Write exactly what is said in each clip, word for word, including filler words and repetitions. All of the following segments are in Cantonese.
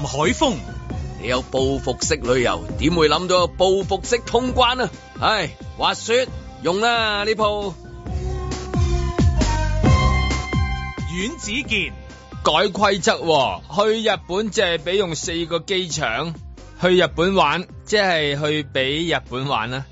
海峰， 你有報復式旅遊，點會諗到有報復式通關啊？唉，滑雪用啦呢鋪。 阮子健， 改規則喎，去日本淨係俾用四個機場，去日本玩即係去俾日本玩啦。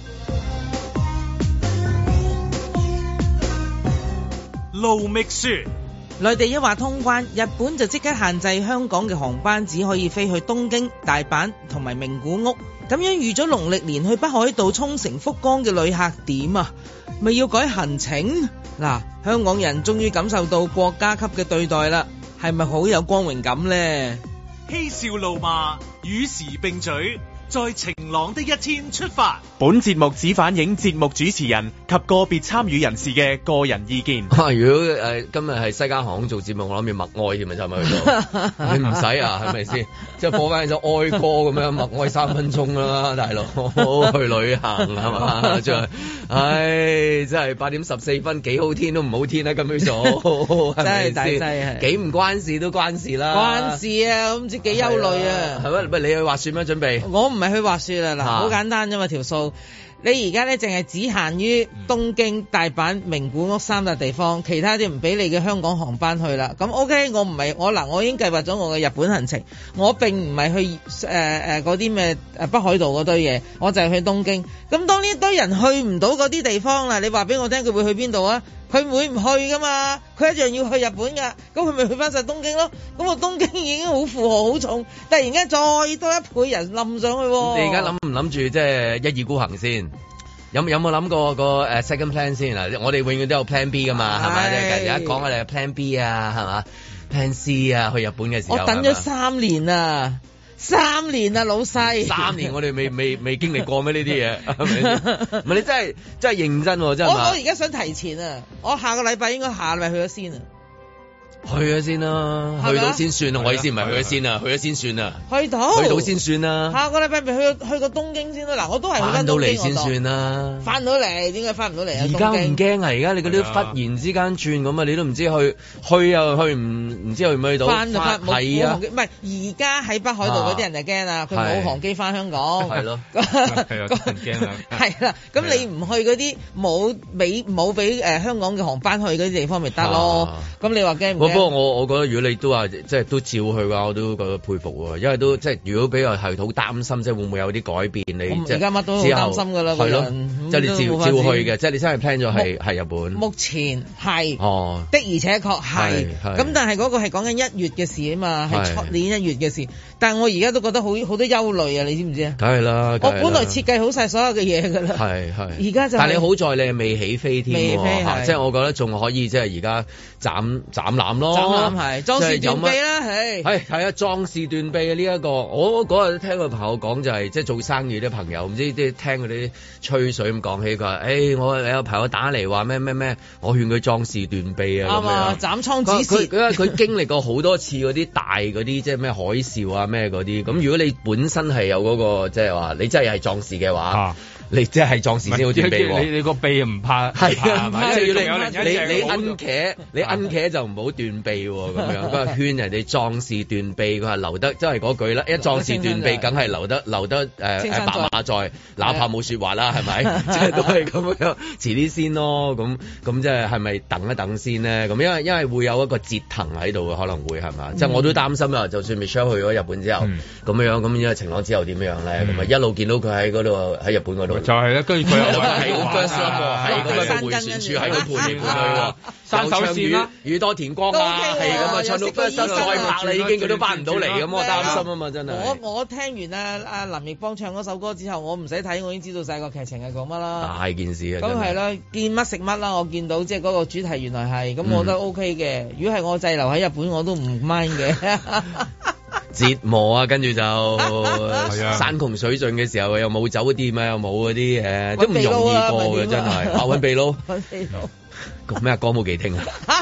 盧覓雪， 內地一話通關，日本就即刻限制香港嘅航班只可以飛去東京、大阪同埋名古屋，咁樣預咗農曆年去北海道、沖繩、福岡嘅旅客點啊？咪要改行程？嗱，香港人終於感受到國家級嘅對待啦，係咪好有光榮感呢？ 嬉笑怒罵，與時並舉，在晴朗的一天出發。 本節目只反映節目主持人及個別參與人士嘅個人意見。 啊、如果誒、呃、今日係西加航空做節目，我諗住默哀添啊，差唔多去到。你唔使啊，係咪先？即係播翻首哀歌咁樣，默哀三分鐘啦，大佬去旅行係嘛？即係，唉，真係八點十四分，幾好天都唔好天啦，咁樣做， 真係大劑係， 幾唔關事都關事啦。 關事啊，我唔知幾憂慮啊。 係咪？喂，你去滑雪咩？準備？ 我唔係去滑雪啦，嗱，好簡單啫嘛條數。你而家咧淨係只限於東京、大阪、名古屋三笪地方，其他啲唔俾你嘅香港航班去啦。咁 OK， 我唔係我嗱，我已經計劃咗我嘅日本行程，我並唔係去誒誒嗰啲咩誒北海道嗰堆嘢，我就係去東京。咁當呢堆人去唔到嗰啲地方啦，你話俾我聽佢會去邊度啊？佢會唔去噶嘛？佢一樣要去日本噶，咁佢咪去翻晒東京咯？咁我東京已經好負荷好重，突然間再多一倍人冧上去。 你而家諗唔諗住即係一意孤行先？有有冇諗過個誒 second plan 先啊？我哋永遠都有 plan B 噶嘛，係咪？即係而家講我哋 plan B 啊，係嘛 plan C 啊，去日本嘅時候。 我等咗三年啊！三年啊，老細！ 三年我哋未未未經歷過咩呢啲嘢？係咪？唔係你真係真係認真喎，真係。 我我而家想提前啊！我下個禮拜應該下禮拜去咗先啊！ 去咗先啦，去到先算啊！我意思唔係去咗先啊，去咗先算啊！ 去到去到先算啦。 下個禮拜咪去去過東京先啦。嗱，我都係翻到嚟先算啦。翻到嚟點解翻唔到嚟啊？ 而家唔驚啊！而家你嗰啲忽然之間轉咁啊，你都唔知去去又去唔唔知去唔去到。翻就翻，係啊， 唔係而家喺北海道嗰啲人就驚啊，佢冇航機翻香港。 係咯， 係啊，驚啦。 係啦，咁你唔去嗰啲冇俾冇俾誒香港嘅航班去嗰啲地方咪得咯？咁你話驚唔驚？ 不過我我覺得如果你都話即係都照去嘅話，我都覺得佩服喎，因為都即係如果比較係好擔心，即係會唔會有啲改變？你即係而家乜都好擔心㗎啦， 係咯，即係你照照去嘅，即係你真係 plan 咗係係日本。 目前係哦， 的而且確係，咁但係嗰個係講緊一月嘅事啊嘛，係出年一月嘅事。但係我而家都覺得好好多憂慮啊！你知唔知啊？ 梗係啦， 我本來設計好晒所有嘅嘢㗎啦， 係係。 而家就但係你好在你係未起飛添， 未飛即係我覺得仲可以即係而家斬斬纜咯。 斬纜係壯士斷臂啦，係係係啊，壯士斷臂嘅呢一個，我嗰日聽個朋友講就係、是、即係做生意啲朋友，唔知即係聽嗰啲吹水咁講起，佢話：誒、欸、我有朋友打嚟話咩咩咩，我勸佢壯士斷臂啊咁樣， 斬倉指示。 佢佢經歷過好多次嗰啲大嗰啲即係咩海嘯啊咩嗰啲，咁如果你本身係有嗰、那個即係話你真係係壯士嘅話。啊你即係壯士先好斷臂喎， 你你個臂唔怕係啊，即係要你你你摁茄，你摁茄就唔好斷臂喎咁樣。佢話勸人哋壯士斷臂，佢話留得，即係嗰句啦。一壯士斷臂，梗係留得留得誒誒白馬在，哪怕冇説話啦，係咪？即係都係咁樣，遲啲先咯。咁咁即係係咪等一等先咧？咁因為因為會有一個折騰喺度嘅，可能會係嘛？即係我都擔心啊！就算 Michelle 去咗日本之後，咁樣咁因為晴朗之後點樣咧？咁啊一路見到佢喺嗰度喺日本嗰度。 就係啦，跟住佢又係好 first love 喎，係咁樣個迴旋處喺度盤嚟盤去喎， 山手線啦， 宇多田光啊，係咁啊，唱到 first love 再拍啦，已經佢都翻唔到嚟咁，我擔心啊嘛，真係。 我我聽完啊阿林奕邦唱嗰首歌之後，我唔使睇，我已經知道晒個劇情係講乜啦。大件事啊！ 咁係啦，見乜食乜啦，我見到即係嗰個主題原來係，咁我覺得 OK 嘅。如果係我滯留喺日本，我都唔 mind 嘅。 折磨啊，跟住就山窮水盡嘅時候又冇酒店啊，又冇嗰啲誒，都唔容易過嘅真係。啊，揾秘撈，揾秘撈，講咩啊？歌舞伎町啊！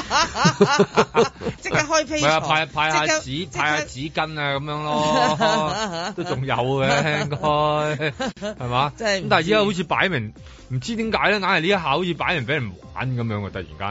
即刻開批， 唔係啊，派派下紙，派下紙巾啊，咁樣咯，都仲有嘅應該係嘛？即係咁，但係而家好似擺明唔知點解咧，硬係呢一下好似擺明俾人玩咁樣嘅，突然間。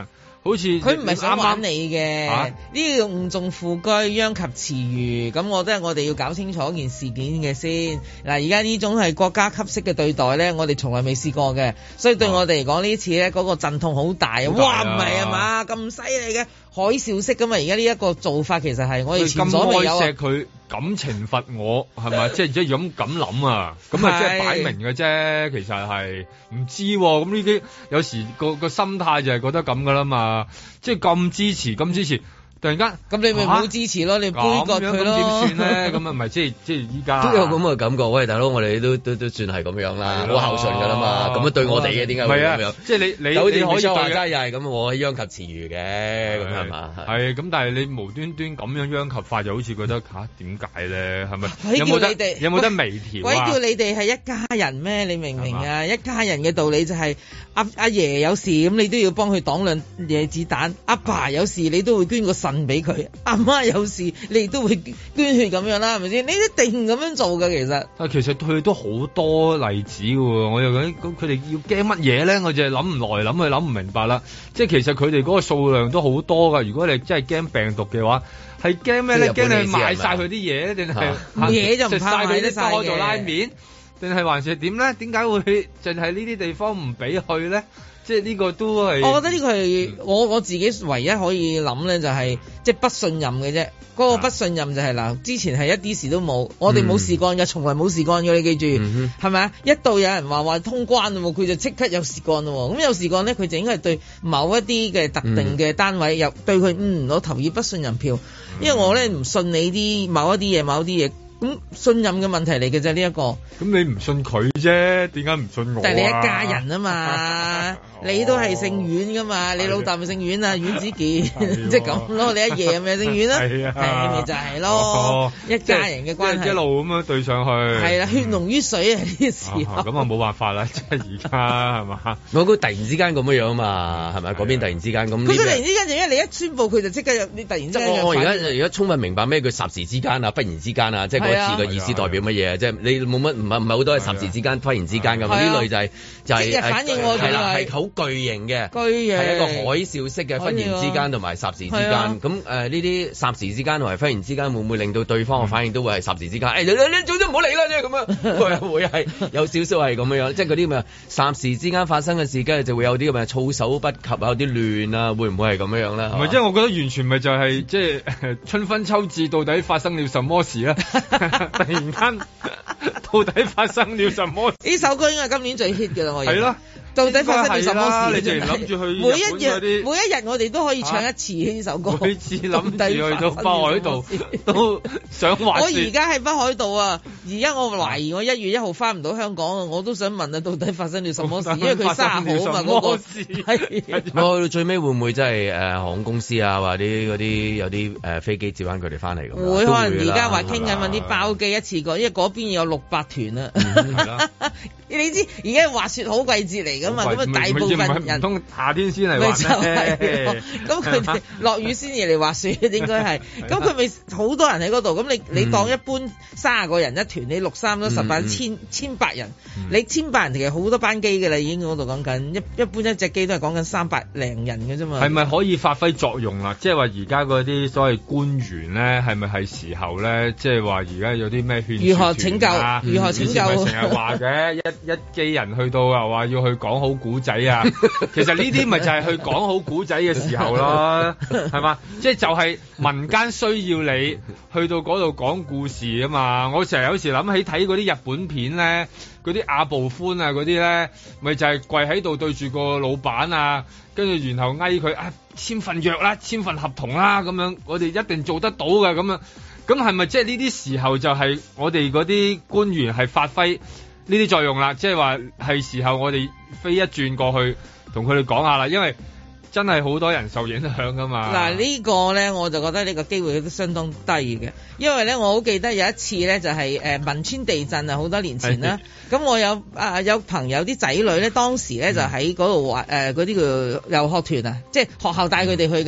好似佢唔係想玩你嘅，呢、啊、個誤中副車，殃及池魚。咁我覺得我哋要搞清楚件事件嘅先。嗱，而家呢種係國家級式嘅對待咧，我哋從來未試過嘅，所以對我哋嚟講呢次咧嗰、那個陣痛好大，大啊！哇，唔係啊嘛，咁犀利嘅海嘯式㗎嘛！而家呢一個做法其實係我哋前所未有。咁愛錫佢， 咁懲罰我係咪？即係即係咁咁諗啊？咁啊，即係擺明嘅啫。其實係唔知咁呢啲，有時個個心態就係覺得咁噶啦嘛。即係咁支持，咁支持。突然間， 咁你咪唔好支持咯，啊、你杯葛佢咯。咁點算咧？咁啊，唔係即係即係依家都有咁嘅感覺。喂，大佬，我哋都都都算係咁樣啦，好孝順噶啦嘛。咁樣對我哋嘅點解會咁樣？ 即係你你有啲你可以話齋又係咁，我殃及池魚嘅，咁係嘛？ 係咁，但係你無端端咁樣殃及法，就好似覺得吓點解咧？係咪？有冇得有冇得微調？ 鬼叫你哋係一家人咩？你明唔明啊？一家人嘅道理就係阿阿爺有事咁，你都要幫佢擋兩嘢子彈；阿爸有事，你都會捐個腎俾佢。阿媽有事，你都會捐血咁樣啦，係咪先？你一定咁樣做嘅，其實。啊， 其實佢都好多例子嘅喎，我又覺得咁佢哋要驚乜嘢咧？我就係諗唔來，諗去諗唔明白啦。即係其實佢哋嗰個數量都好多㗎。如果你真係驚病毒嘅話，係驚咩咧？驚你買晒佢啲嘢，定係嘢就唔怕買得晒嘅。 開做拉麵，定係還是點咧？點解會淨係呢啲地方唔俾去咧？即係呢個都係， 我覺得呢個係我我自己唯一可以諗咧，就係即係不信任嘅啫。嗰個不信任就係嗱，之前係一啲事都冇，我哋冇事幹嘅，從來冇事幹嘅，你記住係咪啊？一到有人話話通關喎，佢就即刻有事幹咯。咁有事幹咧，佢就應該係對某一啲嘅特定嘅單位又對佢嗯，我投以不信任票，因為我咧唔信你啲某一啲嘢，某一啲嘢。咁信任嘅問題嚟嘅啫，呢一個。咁你唔信佢啫，點解唔信我啊？ 但係你一家人啊嘛，你都係姓阮噶嘛，你老豆咪姓阮啊，阮子健，即係咁咯。你一爺咪姓阮啦，係啊，咪就係咯，一家人嘅關係。一路咁樣對上去。係啦，血濃於水啊！呢個時候。 咁啊冇辦法啦，即係而家係嘛？ 我估突然之間咁樣樣嘛，係咪？嗰邊突然之間咁。佢突然之間就因為你一宣佈，佢就即刻有你突然之間。 我而家而家充分明白咩叫霎時之間啊，忽然之間啊，即係。字嘅意思代表乜嘢啊？即係你冇乜唔係唔係好多係霎時之間忽然之間咁，呢類就係就係反應喎，係啦，係好巨型嘅，巨型係一個海嘯式嘅忽然之間同埋霎時之間。咁誒呢啲霎時之間同埋忽然之間會唔會令到對方嘅反應都會係霎時之間？誒你你你總之唔好理啦，即係咁樣，會會係有少少係咁樣樣，即係嗰啲咁嘅霎時之間發生嘅事，跟住就會有啲咁嘅措手不及啊，有啲亂啊，會唔會係咁樣樣咧？唔係，即係我覺得完全咪就係即係春分秋至，到底發生了什麼事咧？突然間，到底發生了什麼？ 呢首歌應該係今年最 hit 嘅啦，我認為。係咯。到底發生咗什麼事？ 你淨係諗住去每一日，每一日我哋都可以唱一次呢首歌。 每次諗住去到北海道都想滑雪。 我而家喺北海道啊！而家我懷疑我一月一號翻唔到香港啊！我都想問啊，到底發生咗什麼事？因為佢三號啊嘛，嗰個事。 係。我到最尾會唔會真係誒航空公司啊，或者嗰啲有啲誒飛機接翻佢哋翻嚟咁？ 會可能而家話傾緊揾啲包機一次過，因為嗰邊有六百團啊。你知而家滑雪好季節嚟㗎嘛？咁啊，大部分人通夏天先嚟滑咩？ 咁佢哋落雨先至嚟滑雪，應該係。咁佢咪好多人喺嗰度？咁你你當一般卅個人一團，你六三都十八千千百人，你千百人其實好多班機㗎啦，已經嗰度講緊一一般一隻機都係講緊三百零人嘅啫嘛。 係咪可以發揮作用啦？即係話而家嗰啲所謂官員咧，係咪係時候咧？即係話而家有啲咩勸如何拯救？如何拯救？ 成日話嘅一一機人去到又話要去講好古仔啊！其實呢啲咪就係去講好古仔嘅時候咯，係嘛？即係就係民間需要你去到嗰度講故事啊嘛！我成日有時諗起睇嗰啲日本片咧，嗰啲阿部寬啊嗰啲咧，咪就係跪喺度對住個老闆啊，跟住然後嗌佢啊簽份約啦，簽份合同啦咁樣，我哋一定做得到㗎咁樣。咁係咪即係呢啲時候就係我哋嗰啲官員係發揮呢啲作用啦？即係話係時候我哋飛一轉過去同佢哋講下啦，因為真係好多人受影響噶嘛。 嗱呢個咧我就覺得呢個機會都相當低嘅，因為咧我好記得有一次咧就係誒汶川地震啊，好多年前啦。咁我有啊有朋友啲仔女咧當時咧就喺嗰度玩誒嗰啲叫遊學團啊，即係學校帶佢哋去嘅。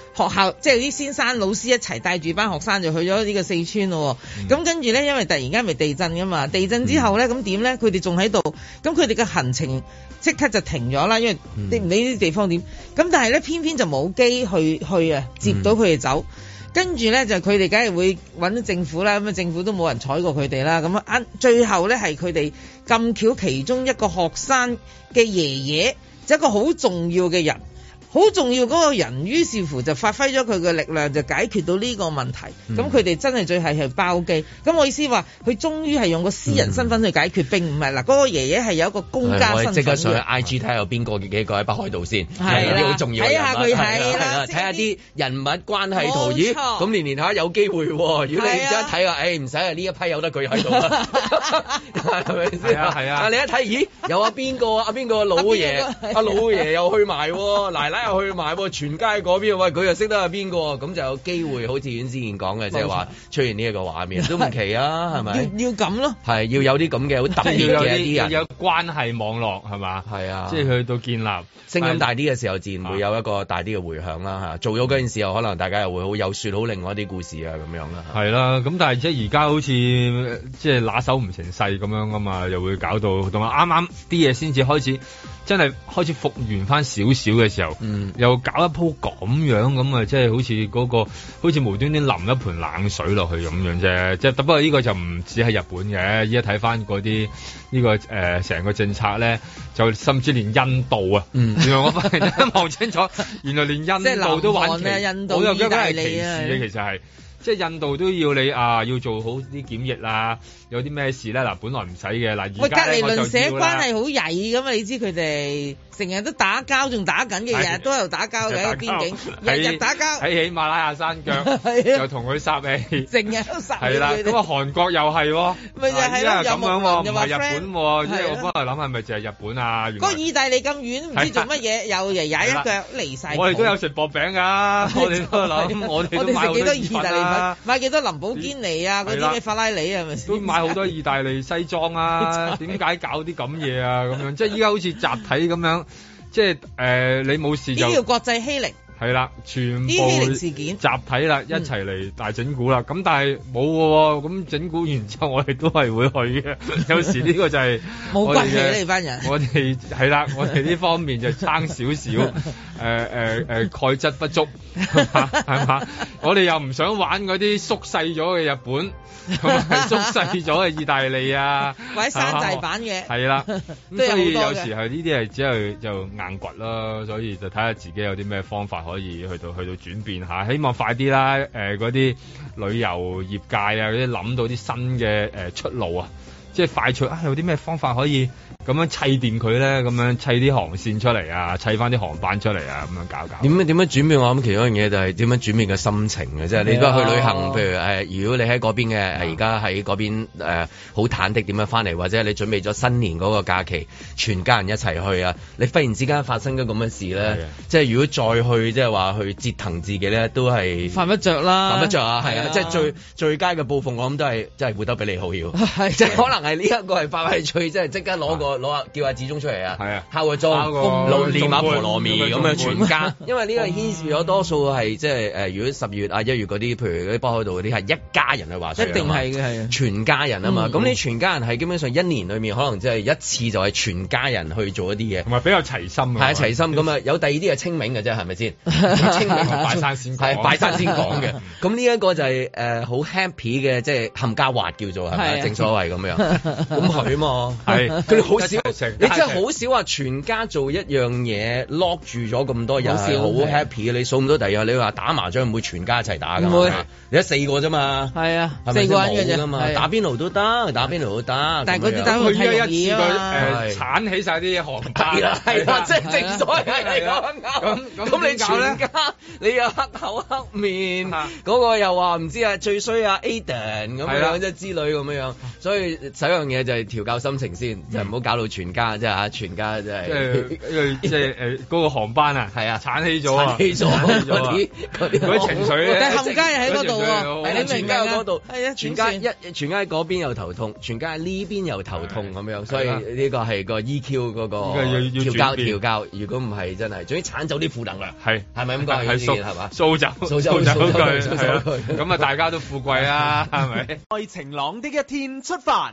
學校即係啲先生老師一齊帶住班學生就去咗呢個四川咯。咁、嗯、跟住咧，因為突然間咪地震噶嘛，地震之後咧，咁點咧？佢哋仲喺度，咁佢哋嘅行程即刻就停咗啦，因為你唔理呢啲地方點。咁但係咧，偏偏就冇機去去啊，接到佢哋走。嗯跟住咧就佢哋梗係會揾到政府啦，咁啊政府都冇人睬過佢哋啦，咁啊最後咧係佢哋咁巧其中一個學生嘅爺爺，就一個好重要嘅人。好重要嗰個人，於是乎就發揮咗佢嘅力量，就解決到呢個問題。咁佢哋真係最係係包機。咁我意思話，佢終於係用個私人身份去解決，嗯、並唔係嗱嗰個爺爺係有一個公家身份。我即刻上去 I G 睇下有邊個幾個喺北海道先，係啲好重要嘅人物。睇下佢係啦，睇下啲人物關係圖。咦，咁年年下有機會喎。如果你而家睇下，誒唔使啊，呢一批有得佢喺度啦，係咪先？係啊係啊。但你一睇，咦，有阿邊個阿邊個老爺，阿老爺又去埋，奶奶又去埋，全街嗰邊，喂佢又識得係邊個，咁就有機會好似阮之前講嘅，即係話出現呢一個畫面都唔奇啊，係咪？要要咁咯，係要有啲咁嘅好特別嘅一啲人，有關係網絡係嘛？係啊，即係去到建立聲音大啲嘅時候，自然會有一個大啲嘅迴響啦嚇。做咗嗰件事後，可能大家又會好有説好另外一啲故事啊咁樣啦。係啦，咁但係即係而家好似即係拿手唔成勢咁樣啊嘛，又會搞到同埋啱啱啲嘢先至開始。真係開始復原翻少少嘅時候，嗯、又搞一鋪咁樣咁啊！即係好似嗰、嗰個，好似無端端淋一盆冷水落去咁樣啫。即係不過呢個就唔止係日本嘅，依家睇翻嗰啲呢個誒成、呃、個政策咧，就甚至連印度啊，嗯、原來我發現一望清楚，原來連印度都玩旗，印度、意大利啊，其實係。即係印度都要你啊，要做好啲檢疫啦，有啲咩事咧？嗱，本來唔使嘅，嗱，而家咧我就要啦。喂，隔離鄰舍關係好曳噶嘛？你知佢哋成日都打交，仲打緊嘅，日日都喺度打交嘅喺邊境，日日打交喺喜馬拉雅山腳，又同佢殺氣，成日都殺。係啦，咁啊韓國又係喎，咪就係咯，又咁樣喎，唔係日本喎，即係我幫佢諗係咪就係日本啊？嗰個意大利咁遠，唔知做乜嘢，又嚟踩一腳離曬。我哋都有食薄餅㗎，我哋都諗，我哋都買好多意大利。買幾多林寶堅尼啊，嗰啲咩法拉利啊，係咪先？都買好多意大利西裝啊，點解搞啲咁嘢啊？咁樣即係依家好似集體咁樣，即係誒、呃、你冇事就呢叫國際欺凌。係啦，全部欺凌事件集體啦，一齊嚟大整蠱啦。咁、嗯、但係冇嘅，咁整蠱完之後，我哋都係會去嘅。有時呢個就係冇骨氣呢班人。我哋係啦，我哋呢方面就差少少，誒誒誒，鈣質不足係嘛？我哋又唔想玩嗰啲縮細咗嘅日本，同埋縮細咗嘅意大利啊，或者山寨版嘅。係啦，咁所以有時係呢啲係只係就硬掘啦，所以就睇下自己有啲咩方法。可以去到去到轉變下，希望快啲啦！誒嗰啲旅遊業界啊，嗰啲諗到啲新嘅誒、呃、出路啊，即係快脆啊！有啲咩方法可以咁樣砌掂佢咧？咁樣砌啲航線出嚟啊，砌翻啲航班出嚟啊，咁樣搞搞。點樣點樣轉變？我諗其中一樣嘢就係點樣轉變嘅心情嘅，即係你都去旅行，譬如誒、呃，如果你喺嗰邊嘅，而家喺嗰邊誒好忐忑點樣翻嚟，或者你準備咗新年嗰個假期，全家人一齊去啊，你忽然之間發生咗咁嘅事咧，即係如果再去即係話去折騰自己咧，都係犯不着啦，犯不着啊，係啊，即係最最佳嘅報復，我諗都係即係活得比你好要，即係可能係呢一個係發揮最，即係即刻攞個。攞下叫阿子忠出嚟啊！係啊，敲個鐘，練下菠蘿蜜咁樣全家，因為呢個牽涉咗多數係即係誒，如果十月啊一月嗰啲，譬如嗰啲北海道嗰啲係一家人去滑水，一定係嘅係啊，全家人啊嘛。咁你全家人係基本上一年裏面可能即係一次就係全家人去做一啲嘢，同埋比較齊心啊。係啊，齊心咁啊，有第二啲係清明嘅啫，係咪先？清明同拜山先係拜山先講嘅。咁呢一個就係誒好 happy 嘅，即係冚家滑叫做係咪？正所謂咁樣。咁係啊嘛，係佢哋好。你真係好少話全家做一樣嘢 lock 住咗咁多人，好 happy 嘅。你數唔到第二日，你話打麻將唔會全家一齊打㗎嘛？你得四個啫嘛。係啊，四個人嘅啫嘛。打邊爐都得，打邊爐都得。但係嗰啲打邊爐太容易啊嘛。誒，鏟起曬啲航班。係啦，係啦，即係正所謂係咁。咁你全家你又黑口黑面，嗰個又話唔知啊最衰啊 Aden 咁樣即係之類咁樣，所以首樣嘢就係調教心情先，就唔好搞到全家即係嚇，全家即係即係即係誒嗰個航班啊，係啊，鏟起咗啊， 鏟起咗嗰啲嗰啲情緒咧， 但係冚家又喺嗰度喎， 係全家喺嗰度， 係啊， 全家一全家喺嗰邊又頭痛，全家喺呢邊又頭痛咁樣，所以呢個係個 E Q 嗰個調教調教，如果唔係真係，總之鏟走啲負能量，係係咪咁講？係掃係嘛？掃走掃走掃走佢，掃走佢， 咁啊大家都富貴啦，係咪？ 在晴朗的一天出發。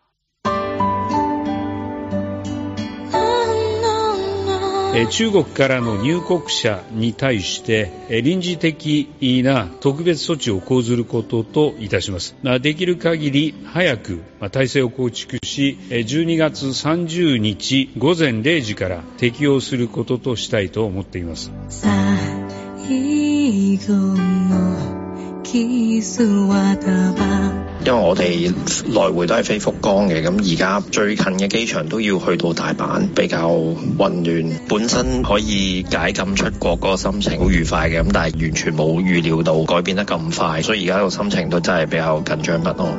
中國からの入國者に対して臨時的な特別措置を講ずることといたします。できる限り早く体制を構築し、じゅうにがつさんじゅうにち午前零時から適用することとしたいと思っています。 因為我哋來回都係飛福岡嘅，咁而家最近嘅機場都要去到大阪，比較混亂。本身可以解禁出國嗰個心情好愉快嘅，咁但係完全冇預料到改變得咁快，所以而家個心情都真係比較緊張不安。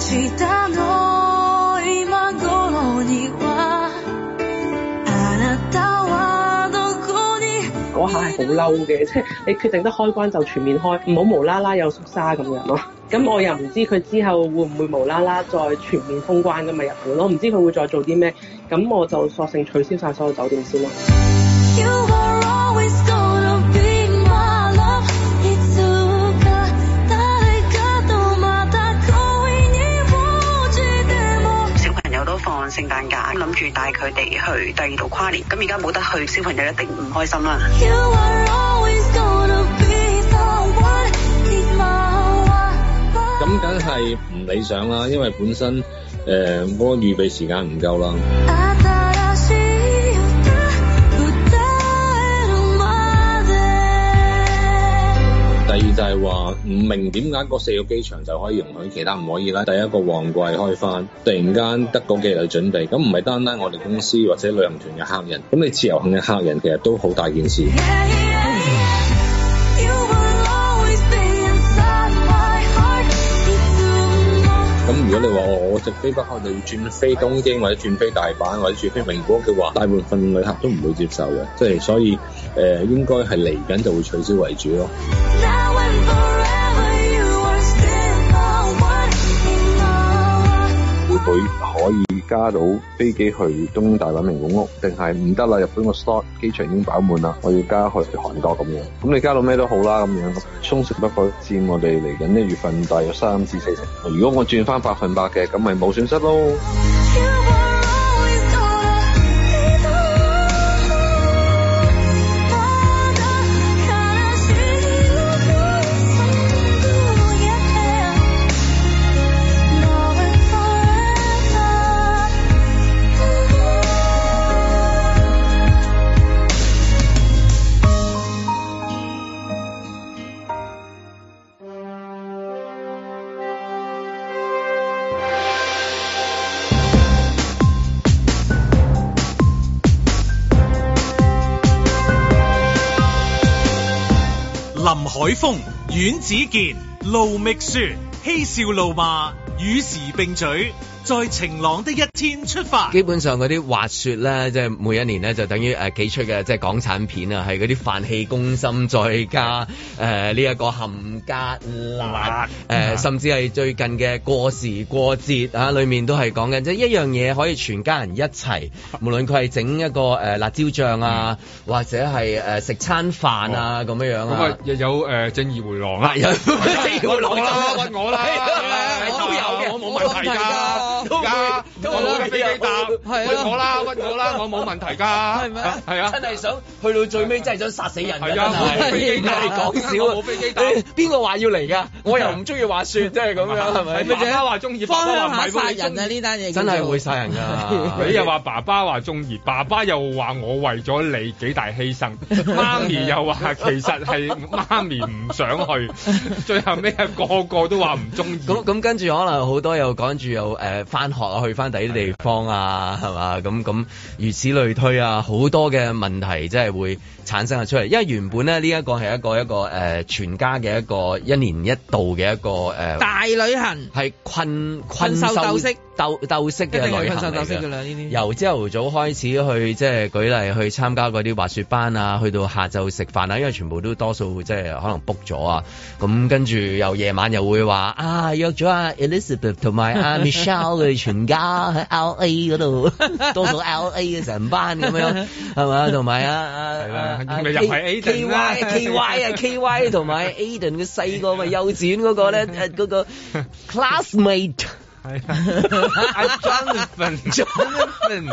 嗰下係好嬲嘅，即係你決定得開關就全面開，唔好無啦啦有縮沙咁樣咯。咁我又唔知佢之後會唔會無啦啦再全面封關㗎嘛日本，我唔知佢會再做啲咩，咁我就索性取消晒所有酒店先咯。 放聖誕假，諗住帶佢哋去第二度跨年，咁而家冇得去，小朋友一定唔開心啦。 咁梗係唔理想啦，因為本身誒嗰個預備時間唔夠啦。第二就係話唔明點解嗰四個機場就可以容許，其他唔可以啦。第一個旺季開翻，突然間得嗰幾日去準備，咁唔係單單我哋公司或者旅行團嘅客人，咁你自由行嘅客人其實都好大件事。咁如果你話我我直飛北海道要轉飛東京或者轉飛大阪或者轉飛名古屋嘅話，大部分旅客都唔會接受嘅，即係所以誒、呃、應該係嚟緊就會取消為主咯。 會可以加到飛機去東京、大阪、名古屋，定係唔得啦？日本個 slot 機場已經飽滿啦，我要加去韓國咁樣。咁你加到咩都好啦，咁樣充實不過佔我哋嚟緊一月份大約三至四成。如果我轉翻百分百嘅，咁咪冇損失咯。 林海峰、阮子健、盧覓雪，嬉笑怒罵，與時並舉，在晴朗的一天出發。 基本上嗰啲滑雪咧，即係每一年咧就等於誒幾出嘅即係港產片啊，係嗰啲飯氣攻心，再加誒呢一個冚家辣誒、呃，甚至係最近嘅過時過節啊，裡面都係講緊即係一樣嘢可以全家人一齊，無論佢係整一個誒、呃、辣椒醬啊，嗯、或者係誒食餐飯啊咁、哦、樣樣啊。咁啊又有誒、呃、正義回廊啊，有正義回廊啦，屈我啦，都有嘅，我冇問題㗎。而家我冇架飛機搭，屈我啦，屈我啦，我冇問題㗎，係咪啊？係啊，真係想去到最尾，真係想殺死人㗎，係啊！冇飛機搭，你講笑啊！冇飛機搭，邊個話要嚟㗎？我又唔中意滑雪，即係咁樣，係咪？爸爸話中意，爸爸話殺人啊！呢單嘢真係會殺人㗎。你又話爸爸話中意，爸爸又話我為咗你幾大犧牲，媽咪又話其實係媽咪唔想去，最後尾個個都話唔中意。 咁咁跟住可能好多又趕住又誒翻學啊，去翻第啲地方啊，係嘛？咁咁如此類推啊，好多嘅問題即係會產生咗出嚟。因為原本咧呢一個係一個一個誒、呃、全家嘅一個一年一度嘅一個誒、呃、 大旅行， 係困困獸鬥式。 鬥鬥式嘅旅行嚟嘅。由朝頭早開始去即係舉例去參加嗰啲滑雪班啊，去到下晝食飯啊，因為全部都多數即係可能 book 咗啊。咁跟住又夜晚又會話啊約咗阿 Elizabeth 同埋阿 Michelle 佢全家喺 L A 嗰度，多數 L A 嘅成班咁樣係嘛，同埋啊啊啊 K K Y K Y 啊 K Y 同埋 Aiden 嘅細個咪幼稚園嗰個咧誒嗰個 classmate。係啊 ，Jonathan，Jonathan，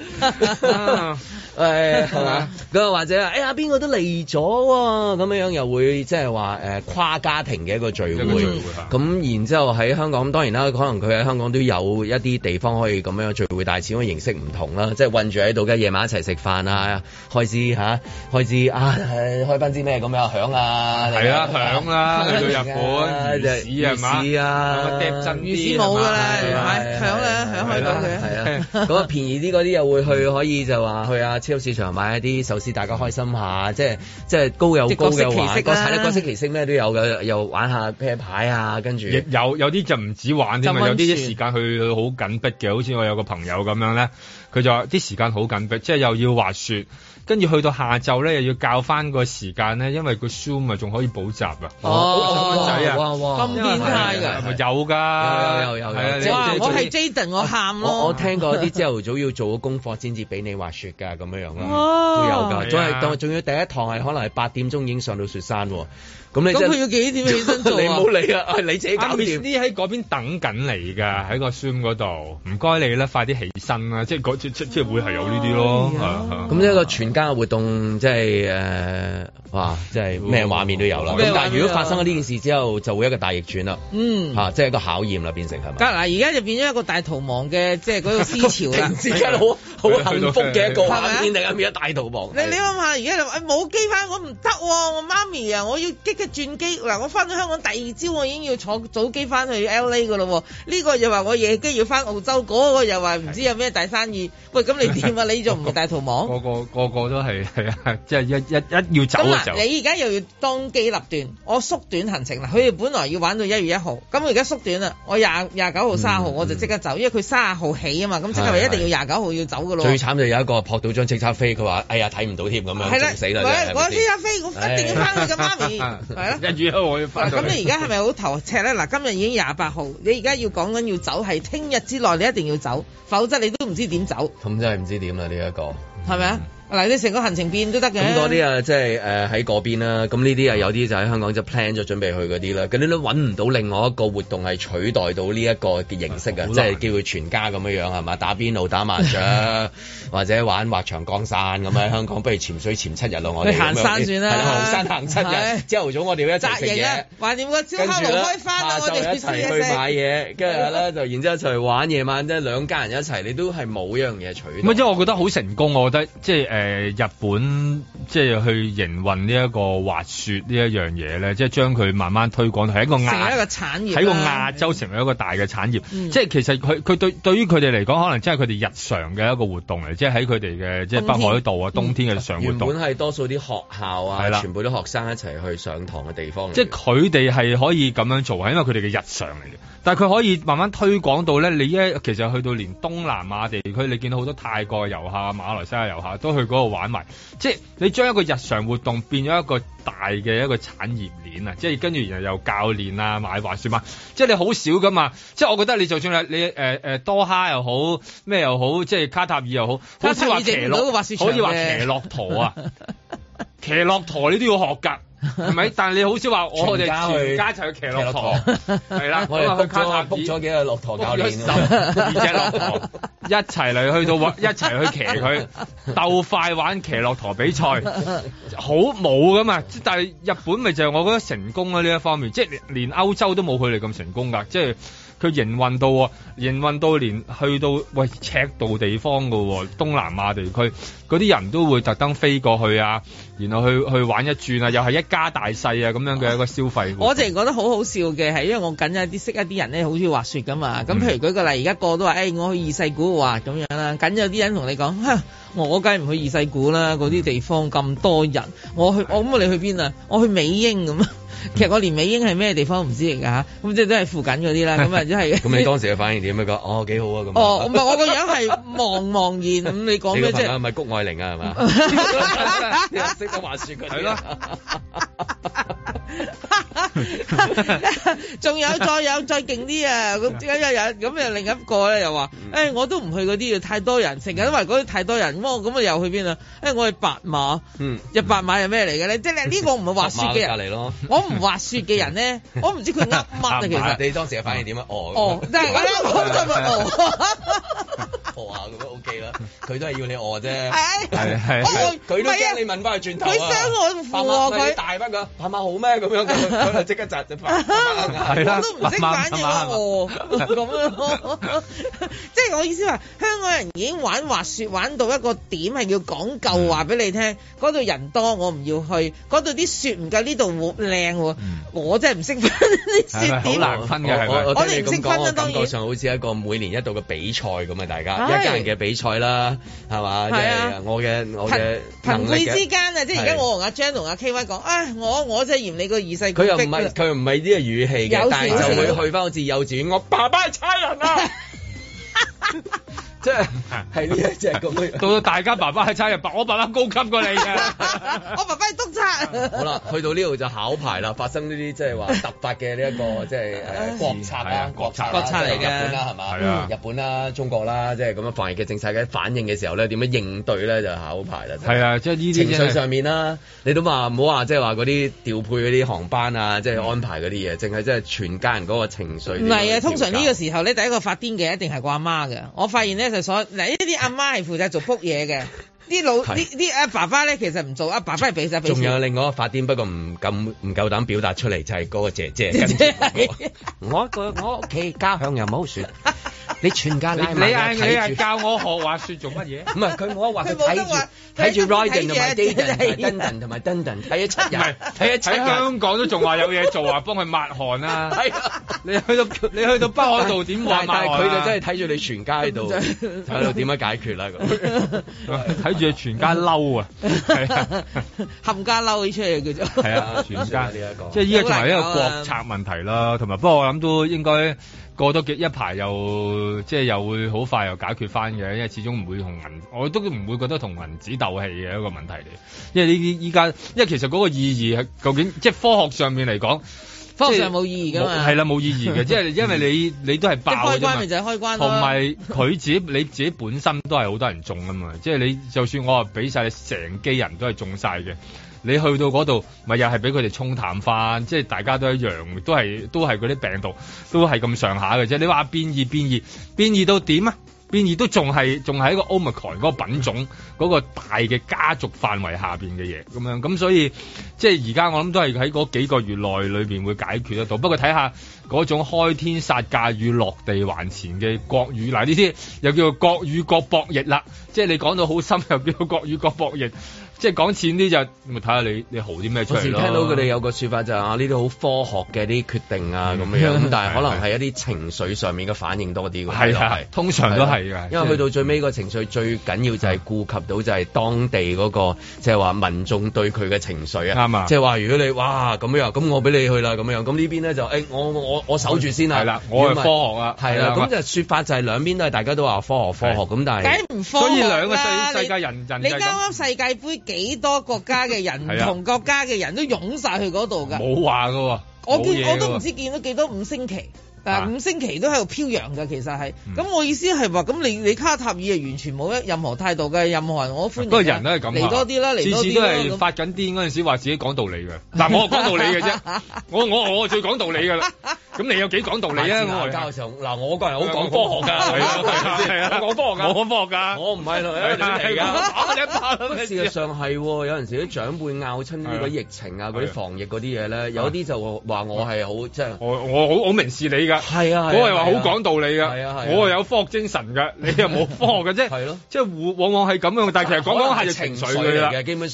誒係嘛？咁或者哎呀邊個都嚟咗喎，咁樣樣又會即係話誒跨家庭嘅一個聚會。咁然之後喺香港，當然啦，可能佢喺香港都有一啲地方可以咁樣聚會，但係始終形式唔同啦。即係韞住喺度嘅夜晚一齊食飯啊，開支嚇，開支啊，開翻支咩咁樣響啊？係啊，響啦！去到日本，魚市係嘛？魚市啊，碟真啲冇㗎啦，響啦，響開到佢。係啊，嗰個便宜啲嗰啲又會去，可以就話去啊。超市場買一啲壽司，大家開心下，即係即係高有高嘅玩，個睇得各式其式咩都有嘅，又玩下啤牌啊，跟住有有啲就唔止玩添嘛，有啲時間去好緊迫嘅，好似我有個朋友咁樣咧，佢就話啲時間好緊迫，即係又要滑雪。跟住去到下晝咧，又要教翻個時間咧，因為個 Zoom 啊仲可以補習啊。哦，仔啊， 哇哇，咁變態㗎， 係咪有㗎？有有有有。 哇！我係 Jaden，我喊咯。 我我聽過啲朝頭早要做功課先至俾你滑雪㗎，咁樣樣啦，都有㗎。仲係仲要第一堂係可能係八點鐘已經上到雪山喎。咁你咁佢要幾點起身做啊？ 你唔好理啊，係你自己搞掂。 啲喺嗰邊等緊你㗎，喺個 Zoom 嗰度，唔該你啦，快啲起身啦，即係嗰即即即係會係有呢啲咯。 咁一個全家嘅活動，即係誒，哇，即係咩畫面都有啦。咁但係如果發生咗呢件事之後，就會一個大逆轉啦。嗯，嚇，即係一個考驗啦，變成係咪？ 嗱，而家就變咗一個大逃亡嘅，即係嗰個思潮啦。 突然之間好好幸福嘅一個畫面嚟，變咗大逃亡。 你你諗下，而家就冇機翻，我唔得喎，我媽咪啊，我要激嘅。轉機嗱，我翻到香港第二朝，我已經要坐早機翻去 L A 噶咯。呢個又話我夜機要翻澳洲，嗰個又話唔知有咩大生意。喂，咁你點啊？你仲唔係大逃亡？ 個個個個都係係啊，即係一一一要走嘅時候。 你而家又要當機立斷，我縮短行程啦。佢哋本來要玩到一月一號，咁我而家縮短啦。我廿廿九號、三十號我就即刻走，因為佢三十號起啊嘛。咁即係咪一定要廿九號要走噶咯？ 最慘就有一個撲到張即刻飛，佢話：哎呀睇唔到添咁樣，仲死啦！ 我即刻飛，我一定要翻去嘅媽咪，係啊， 一月一號我要翻。 咁你而家係咪好頭赤咧？嗱，今日已經廿八號，你而家要講緊要走，係聽日之內你一定要走，否則你都唔知點走。 咁真係唔知點啦呢一個， 係咪啊？嗱，你成個行程變都得嘅。 咁嗰啲啊，即係誒喺嗰邊啦。咁呢啲啊，有啲就喺香港就 plan 咗準備去嗰啲啦。咁你都揾唔到另外一個活動係取代到呢一個嘅形式啊，即係叫佢全家咁樣樣係嘛？打邊爐、打麻雀，或者玩滑翔降傘咁喺香港，不如潛水潛七日咯。我哋行山算啦， 行山行七日。朝頭早我哋要一齊食嘢， 話掂個燒烤爐開翻啦，我哋一齊去買嘢，跟住咧就然之後一齊玩夜晚，即係兩家人一齊，你都係冇一樣嘢取代。 唔係，即係我覺得好成功，我覺得即係誒日本。咁即係去營運呢一個滑雪呢一樣嘢咧，即係將佢慢慢推廣係一個亞成為一個產業， 喺個亞洲成為一個大嘅產業。嗯、即係其實佢佢對對於佢哋嚟講，可能真係佢哋日常嘅一個活動嚟，即係喺佢哋嘅即係北海道啊，冬天嘅日常活動。 原本係多數啲學校啊， 係啦， 全部都學生一齊去上堂嘅地方。 即係佢哋係可以咁樣做，係因為佢哋嘅日常嚟嘅。但係佢可以慢慢推廣到咧，你一其實去到連東南亞地區，你見到好多泰國遊客、馬來西亞遊客都去嗰度玩埋。即係你將一個日常活動變咗一個大嘅一個產業鏈啊！即係跟住然後又教練啊，買滑雪嘛，即係你好少噶嘛。即係我覺得你就算你誒誒、呃呃、多哈又好，咩又好，即係卡塔爾又好，好似話騎駱，好似話騎駱駝啊，騎駱駝你都要學㗎。係咪？但係你好少話我哋全家一齊去騎駱駝，係啦，我哋去卡塔爾 book 咗幾個駱駝教練， 十二隻駱駝一齊嚟去到一齊去騎佢，鬥快玩騎駱駝比賽，好冇噶嘛？但係日本咪就係我覺得成功啦呢一方面，即係連歐洲都冇佢哋咁成功㗎，即係。佢營運到，營運到連去到喂赤道地方嘅喎，東南亞地區嗰啲人都會特登飛過去啊，然後去去玩一轉啊，又係一家大細啊咁樣嘅一個消費。 我淨係覺得好好笑嘅係，因為我緊有啲識一啲人咧，好中意滑雪噶嘛。咁譬如舉個例，而家個個都話，誒、欸，我去二世古滑咁樣啦。緊有啲人同你講，嚇，我梗係唔去二世古啦，嗰啲地方咁多人。我去，我咁你去邊啊？我去美英咁。 其實我年尾已經係咩地方唔知嚟㗎嚇，咁即係都係附近嗰啲啦，咁啊即係。咁你當時嘅反應點樣講？哦，幾好啊咁。 哦，唔係我個樣係茫茫然咁，你講咩啫？ 係咪谷愛玲啊？係嘛？識得滑雪嗰啲。係咯。 仲有再有再勁啲啊！咁有有咁又另一個咧又話，誒、欸、我都唔去嗰啲啊，太多人，成日都話嗰啲太多人，咁我咁啊又去邊啊？誒、欸、我去白馬，嗯，入白馬係咩嚟嘅咧？即係呢個唔係滑雪嘅人，隔離咯。我唔滑雪嘅人咧，我唔知佢噏乜啊其實。你當時嘅反應點啊？哦，哦，但係我咧我就咪哦。餓下咁樣 OK 啦，佢都係要你餓啫，係係係，佢都驚你問翻佢轉頭啊，佢傷我扶喎佢，大翻佢，拍馬好咩咁樣，佢就即刻窒就拍，係啦，我都唔識反應餓咁樣，即係我意思話，香港人已經玩滑雪玩到一個點係要講究話俾你聽，嗰度人多我唔要去，嗰度啲雪唔夠呢度靚喎，我真係唔識分啲雪點，好難分嘅係咪？我哋唔識分啊，當然感覺上好似一個每年一度嘅比賽咁啊，大家。一家人嘅比賽啦，係嘛？即係我嘅我嘅朋輩之間啊，即係而家我同阿張同阿 K Y 講，啊，我我真係嫌你個二世。佢又唔係佢又唔係呢個語氣嘅，但係就會去翻好似幼稚園，我爸爸係差人啊！即係係呢一隻咁樣，到到大家爸爸係差人，我爸爸高級過你嘅，我爸爸係督察。好啦，去到呢度就考牌啦，發生呢啲即係話突發嘅呢一個即係誒國策啊，國策國策嚟嘅，日本啦係嘛？係啊，日本啦、中國啦，即係咁樣防疫嘅政策嘅反應嘅時候咧，點樣應對咧就考牌啦。係啊，即係呢啲情緒上面啦，你都話唔好話即係話嗰啲調配嗰啲航班啊，即係安排嗰啲嘢，淨係即係全家人嗰個情緒。唔係啊，通常呢個時候咧，第一個發癲嘅一定係個阿媽嘅。我發現咧。所嗱呢啲阿媽係負責做撲嘢嘅，啲老啲啲阿爸爸咧其實唔做，阿爸爸係俾晒俾錢。仲有另外一個發癲，不過唔敢唔夠膽表達出嚟，就係、是、嗰個姐姐。姐姐我個我屋企家鄉又冇雪。你全家拉埋睇住，你係教我學滑雪做乜嘢？唔係佢冇得話，佢睇住睇住 Ryden 同埋 Dayton 同埋 Dundon 睇咗七日，睇咗七日。喺香港都仲話有嘢做啊，幫佢抹汗啊！係啊，你去到你去到北海道點抹汗？但係佢就真係睇住你全家喺度喺度點樣解決啦咁。睇住你全家嬲啊！係啊，冚家嬲起出嚟叫做。係啊，全家呢一個，即係依家仲係一個國策問題啦。同埋不過我諗都應該。過多幾一排又即係又會好快又解決翻嘅，因為始終唔會同銀，我都唔會覺得同銀紙鬥氣嘅一個問題嚟。因為呢啲依家，因為其實嗰個意義係究竟即係科學上面嚟講，科學上冇意義㗎嘛。係啦，冇意義嘅，即係因為你你都係爆嘅啫嘛。開關咪就係開關咯。同埋佢自己你自己本身都係好多人中啊嘛，即係你就算我話俾晒你成機人都係中晒嘅。你去到嗰度，咪又係俾佢哋沖淡翻，即係大家都一樣，都係都係嗰啲病毒，都係咁上下嘅啫。你話變異變異變異到點啊？變異都仲係仲係一個 Omicron 嗰個品種嗰個大嘅家族範圍下邊嘅嘢咁樣，咁所以即係而家我諗都係喺嗰幾個月內裏邊會解決得到。不過睇下嗰種開天殺價與落地還錢嘅國語，嗱呢啲又叫做國與國博弈啦。即係你講到好深，又叫做國與國博弈。即係講錢啲就咪睇下你你豪啲咩出嚟咯。我時聽到佢哋有個說法就係啊，呢啲好科學嘅啲決定啊咁樣，咁但係可能係一啲情緒上面嘅反應多啲。係係，通常都係嘅。因為去到最尾個情緒最緊要就係顧及到就係當地嗰個即係話民眾對佢嘅情緒啊。啱啊！即係話如果你哇咁樣，咁我俾你去啦咁樣，咁呢邊咧就誒我我我守住先啊。係啦，我係科學啊。係啦，咁就說法就係兩邊都係大家都話科學科學咁，但係梗唔科學啦。所以兩個世世界人人你啱啱世界盃。幾多國家嘅人，唔同國家嘅人都湧晒去嗰度㗎。冇話㗎喎，我見我都唔知見到幾多五星旗。但五星期都喺度飄揚㗎，其實係。咁、嗯、我意思係話，咁你你卡塔爾係完全冇一任何態度嘅，任何人我歡迎。不過人都係咁嚟多啲啦，嚟多啲。次次都係發緊癲嗰陣時話自己講道理嘅。嗱，我講道理嘅啫，我我我最講道理㗎啦。咁你有幾講道理啊？我教嘅時候，嗱，我個人好講科學㗎，係啊，係啊，我講科學㗎，我講科學㗎，我唔係嚟㗎，打你一巴咁。事實上係，有陣時啲長輩拗親呢個疫情啊，嗰啲防疫嗰啲嘢咧，有啲就話我係好即係我我好好明事理㗎。係啊，我係話好講道理噶，我係有科學精神噶，你又冇科學嘅啫，係咯，即係往往係咁樣，但係其實講講係情緒嚟嘅，基本上係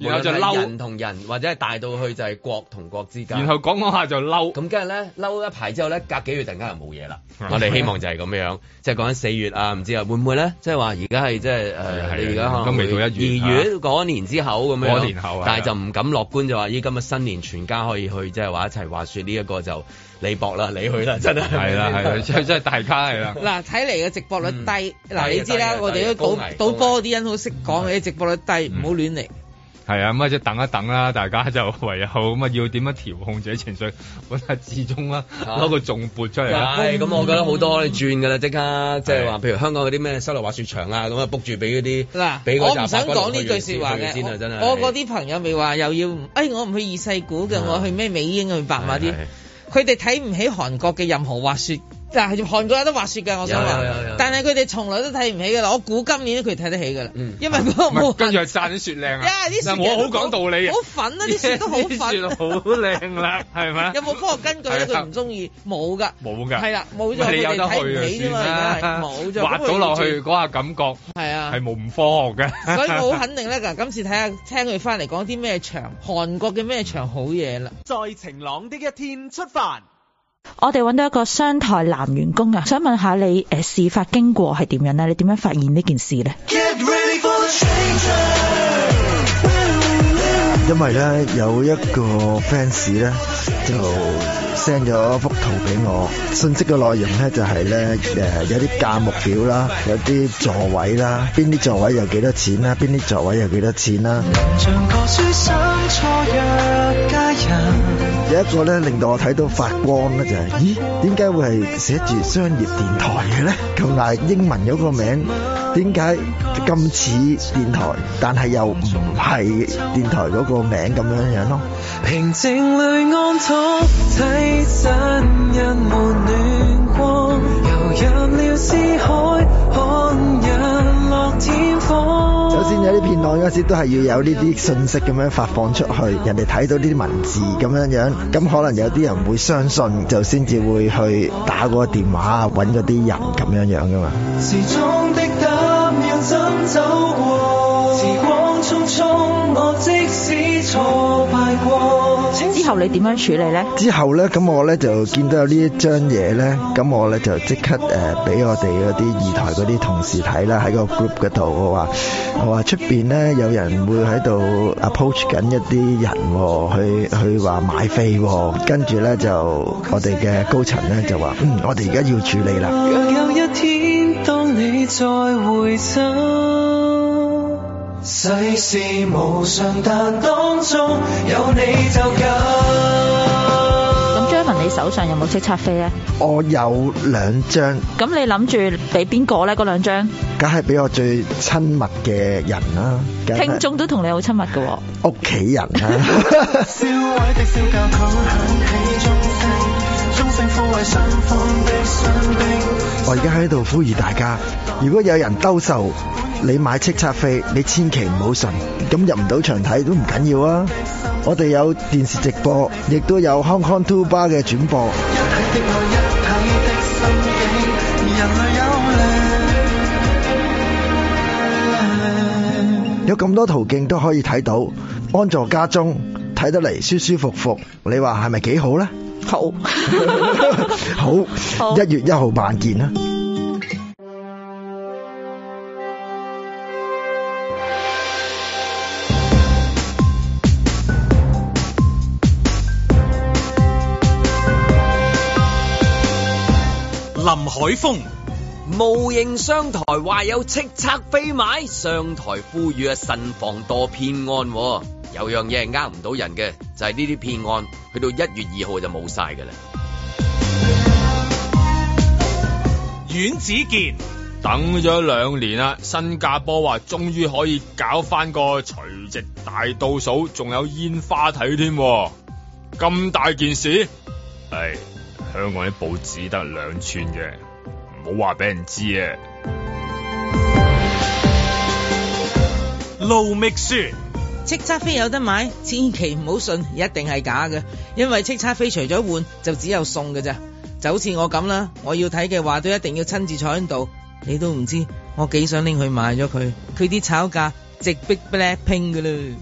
然後就嬲人同人或者係大到去就係國同國之間， 然後講講下就嬲， 咁跟住咧嬲一排之後咧，隔幾月突然間又冇嘢啦。我哋希望就係咁樣，即係講緊四月啊，唔知啊會唔會咧？即係話而家係即係誒，你而家可能都未到一月， 二月嗰年之後咁樣， 嗰年後， 但係就唔敢樂觀，就話依今日新年全家可以去，即係話一齊滑雪呢一個就你搏啦，你去啦，真係係啦係啦，即係即係大家係啦。 嗱，睇嚟嘅直播率低，嗱你知啦，我哋都賭賭波啲人好識講嘅，直播率低，唔好亂嚟。 係啊，咁啊即係等一等啦，大家就唯有咁啊要點樣調控自己情緒，揾下志忠啦，攞個重撥出嚟啦。 係咁，我覺得好多你轉㗎啦，即刻即係話，譬如香港嗰啲咩室內滑雪場啊，咁啊 book 住俾嗰啲嗱， 我唔想講呢句説話嘅。我嗰啲朋友咪話又要，哎我唔去二世古嘅，我去咩美英去白馬啲，佢哋睇唔起韓國嘅任何滑雪。嗱，韓國有得滑雪㗎，我想話，但係佢哋從來都睇唔起㗎啦。我估今年佢哋睇得起㗎啦，因為嗰個冇跟住係讚啲雪靚啊！嗱，我好講道理嘅， 好粉啊！啲雪都好粉， 雪好靚啦，係咪？ 有冇科學根據咧？佢唔中意，冇㗎， 冇㗎， 係啦，冇咗佢哋睇唔起啫嘛，冇咗滑到落去嗰下感覺係啊， 係冇唔科學嘅。 所以我好肯定咧，嗱，今次睇下聽佢翻嚟講啲咩場，韓國嘅咩場好嘢啦。 在晴朗的一天出發。 我哋揾到一個商台男員工啊，想問下你誒、呃、事發經過係點樣咧？你點樣發現呢件事咧？ 因為咧有一個 fans 咧就 send 咗幅圖俾我，信息嘅內容咧就係咧誒有啲價目表啦，有啲座位啦，邊啲座位有幾多錢啦，邊啲座位有幾多錢啦。有一個咧令到我睇到發光咧就係、是，咦？點解會係寫住商業電台嘅咧？咁但係英文嗰個名點解咁似電台，但係又唔係電台嗰個名咁樣樣咯？平靜裏安躺，睇真人們暖光，遊入了思海，看日落天荒。首先有啲片段嗰時都係要有呢啲信息咁樣發放出去，人哋睇到呢啲文字咁樣樣，咁可能有啲人會相信，就先至會去打嗰個電話揾嗰啲人咁樣樣噶嘛。時鐘的膽要怎走過，時光匆匆，我即使挫敗過。 之後你點樣處理咧？ 之後咧，咁我咧就見到有呢一張嘢咧，咁我咧就即刻誒俾、呃、我哋嗰啲二台嗰啲同事睇啦，喺個 group 嗰度，我話我話出邊咧有人會喺度 approach 緊一啲人、哦，去去話買飛、哦，跟住咧就我哋嘅高層咧就話，嗯，我哋而家要處理啦。若有一天當你再回首，世事無常，但當中有你就夠。 咁張文，你手上有冇叱咤飛咧？ 我有兩張。咁你諗住俾邊個咧？嗰兩張？ 梗係俾我最親密嘅人啦。 聽眾都同你好親密㗎喎。 屋企人啦。我而家喺度呼籲大家，如果有人兜售你買叱咤飛，你千祈唔好信，咁入唔到場睇都唔緊要啊！我哋有電視直播，亦都有 Hong Kong Two Bar 嘅轉播。有咁多途徑都可以睇到，安坐家中睇得嚟舒舒服服，你話係咪幾好呢？ 好， 好，一月一號晚見啦！ 林海峰， 模型商台話有叱咤飛買，商台呼籲啊慎防墮騙案。有樣嘢係呃唔到人嘅，就係呢啲騙案去到一月二號就冇晒㗎啦。 阮子健， 等咗兩年啦，新加坡話終於可以搞翻個除夕大倒數，仲有煙花睇添，咁大件事，係香港啲報紙得兩寸嘅，唔好話俾人知啊。 盧覓雪， 叱咤飛有得買，千祈唔好信，一定係假嘅，因為叱咤飛除咗換就只有送嘅咋，就好似我咁啦，我要睇嘅話都一定要親自坐喺度，你都唔知我幾想拎去買咗佢，佢啲炒價直逼 Blackpink 噶啦。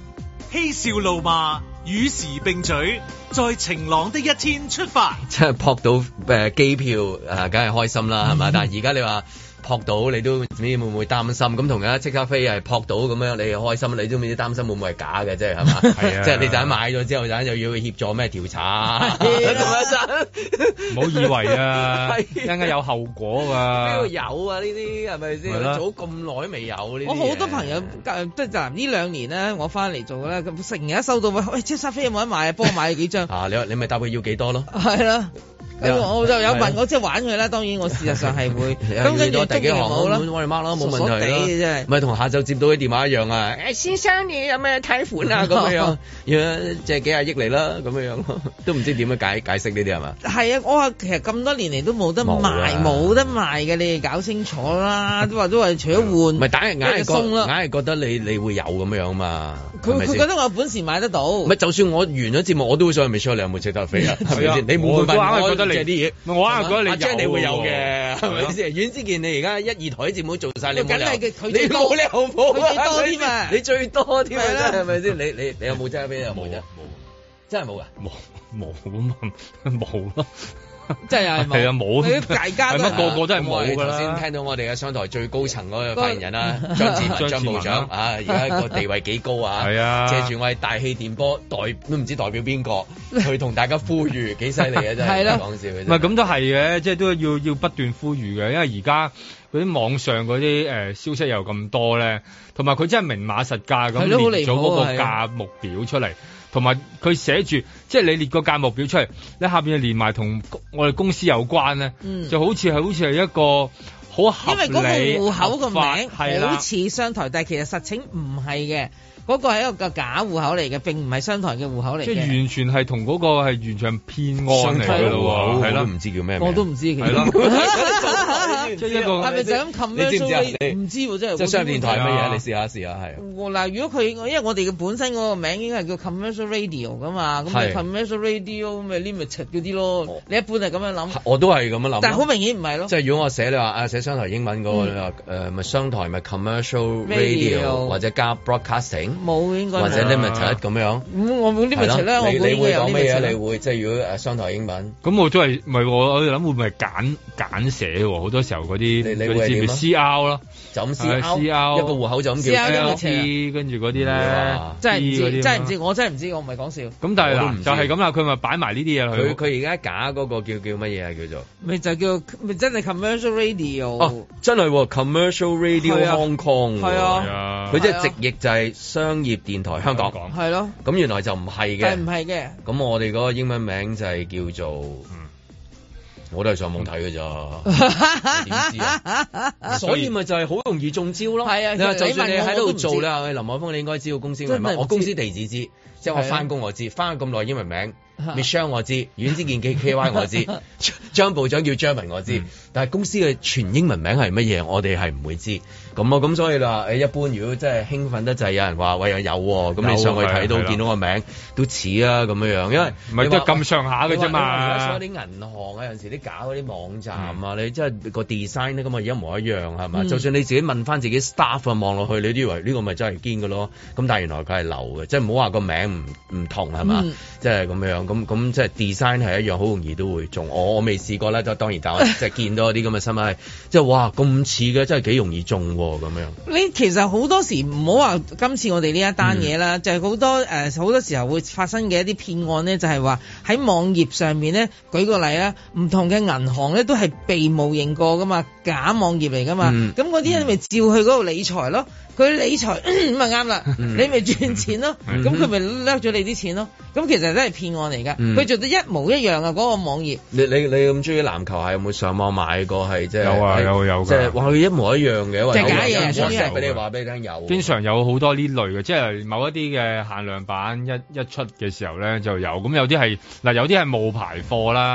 嬉笑怒罵，與時並舉，在晴朗的一天出發。 即係撲到誒機票誒，梗係開心啦，係嘛？但係而家你話撲到，你都唔知會唔會擔心？咁同樣即刻飛係撲到咁樣，你又開心，你都唔知擔心會唔會係假嘅啫，係嘛？係啊，即係你陣買咗之後，陣又要協助咩調查？ 唔好以為啊，一陣間有後果㗎。 邊度有啊？呢啲係咪先？早咁耐都未有呢啲。 我好多朋友即係就呢兩年咧，我翻嚟做咧，咁成日收到喂喂，即沙飛有冇得買啊？幫我買幾張啊！你你咪答佢要幾多咯？ 係啦。咁我就有問我即係玩佢啦，當然我事實上係會咁跟住第幾行好啦，我哋 mark 啦，冇問題啦。唔係同下晝接到啲電話一樣啊！誒先生你有咩貸款啊？咁樣樣，借幾廿億嚟啦，咁樣樣都唔知點樣解解釋呢啲係嘛？係啊，我話其實咁多年嚟都冇得賣，冇得賣嘅，你哋搞清楚啦。都話都話除咗換，唔係打人硬係覺硬係覺得你你會有咁樣嘛？佢佢覺得我有本事買得到。唔係就算我完咗節目，我都會想去 Michelle 你有冇值得飛啊？係咪先？你冇問我。借啲嘢，我硬係覺得你有，你會有嘅，係咪先？阮之健，你而家一二台節目做晒，你冇理由，你冇理由冇，佢最多添啊！你最多添啊，係咪先？你你你有冇真係俾有冇啫？冇，真係冇噶，冇冇冇冇咯。真係係啊冇，大家係乜個個都係冇㗎啦。頭先聽到我哋嘅商台最高層嗰個發言人啦，張志文張部長啊，而家個地位幾高啊？係啊，借住我哋大氣電波代都唔知代表邊個去同大家呼籲，幾犀利啊！真係講笑嘅。唔係咁都係嘅，即係都要要不斷呼籲嘅，因為而家嗰啲網上嗰啲誒消息又咁多咧，同埋佢真係明碼實價咁列咗嗰個價目表出嚟。同埋佢寫住，即係你列個價目表出嚟，你下邊連埋同我哋公司有關咧，嗯、就好似係好似係一個好合理，因為嗰個戶口個名好似商台，但係其實實情唔係嘅。嗰個係一個假戶口嚟嘅，並唔係商台嘅戶口嚟嘅。即係完全係同嗰個係完全騙案嚟嘅咯喎，係咯，唔知叫咩名，我都唔知。係咯，即係一個係咪就咁 commercial？唔知喎，真係。即係商業電台乜嘢？你試下試下係。嗱，如果佢因為我哋嘅本身嗰個名應該係叫 commercial radio 噶嘛，咁你 commercial radio 咪 limited 嗰啲咯。你一般係咁樣諗。我都係咁樣諗。但係好明顯唔係咯。即係如果我寫你話啊寫商台英文嗰個你話誒咪商台咪 commercial radio 或者加 broadcasting。冇應該或者 limited 咁樣，咁我冇 limit 咧，我你會講咩嘢？你會即係如果誒商台英文，咁我都係唔係我我諗會唔會係簡簡寫喎？好多時候嗰啲你你會點啊 ？C R 咯，就咁 C R，一個戶口就咁叫 L T，跟住嗰啲咧，真係唔知，真係唔知，我真係唔知，我唔係講笑。咁但係嗱，就係咁啦，佢咪擺埋呢啲嘢落去。佢佢而家假嗰個叫叫乜嘢啊？叫做咪就叫咪真係 commercial radio。哦，真係 commercial radio Hong Kong。係啊，佢即係直譯就係商業電台香港，係咯，咁原來就唔係嘅，係唔係嘅？咁我哋嗰個英文名就係叫做，嗯、我都係上網睇嘅咋，點知啊？所以咪就係好容易中招咯。係啊，你話就算你喺度做咧，林海峰你應該知道公司名乜？我公司地址知，即係我翻工我知，翻咗咁耐英文名。Michelle 我知，阮之健 K K Y 我知，張部長叫張文我知，嗯、但係公司嘅全英文名係乜嘢，我哋係唔會知。咁啊，咁所以啦，誒一般如果真係興奮得滯，有人話喂有有，咁你上去睇到見到個名都似啊咁樣樣，因為唔係都係咁上下嘅啫嘛。而家所有啲銀行啊，有陣時啲搞嗰啲網站啊，嗯、你真係個 design 咧咁啊，一模一樣係嘛？嗯、就算你自己問翻自己 staff 啊，望落去你都以為呢個咪真係堅嘅咯。咁但係原來佢係流嘅，即係唔好話個名唔唔同係嘛？即係咁樣。咁咁即係 design 係一樣，好容易都會中。我我未試過咧，就當然但我即係見到啲咁嘅新聞係，即係哇咁似嘅，真係幾容易中咁樣。你其實好多時唔好話今次我哋呢一單嘢啦，嗯、就係好多誒好、呃、多時候會發生嘅一啲騙案咧，就係話喺網頁上面咧，舉個例啦，唔同嘅銀行咧都係被冒認過噶嘛，假網頁嚟噶嘛，咁嗰啲人咪照去嗰度理財咯。佢理財咁咪啱啦，你咪賺錢咯，咁佢咪掠咗你啲錢咯，咁其實都係騙案嚟噶，佢做得一模一樣啊嗰個網頁。你你你咁中意籃球係有冇上網買過係即係？有啊有有即係話佢一模一樣嘅，即係假嘢，所以俾你話俾你聽有。經常有好多呢類嘅，即係某一啲嘅限量版一一出嘅時候咧就有，咁有啲係嗱有啲係冒牌貨啦。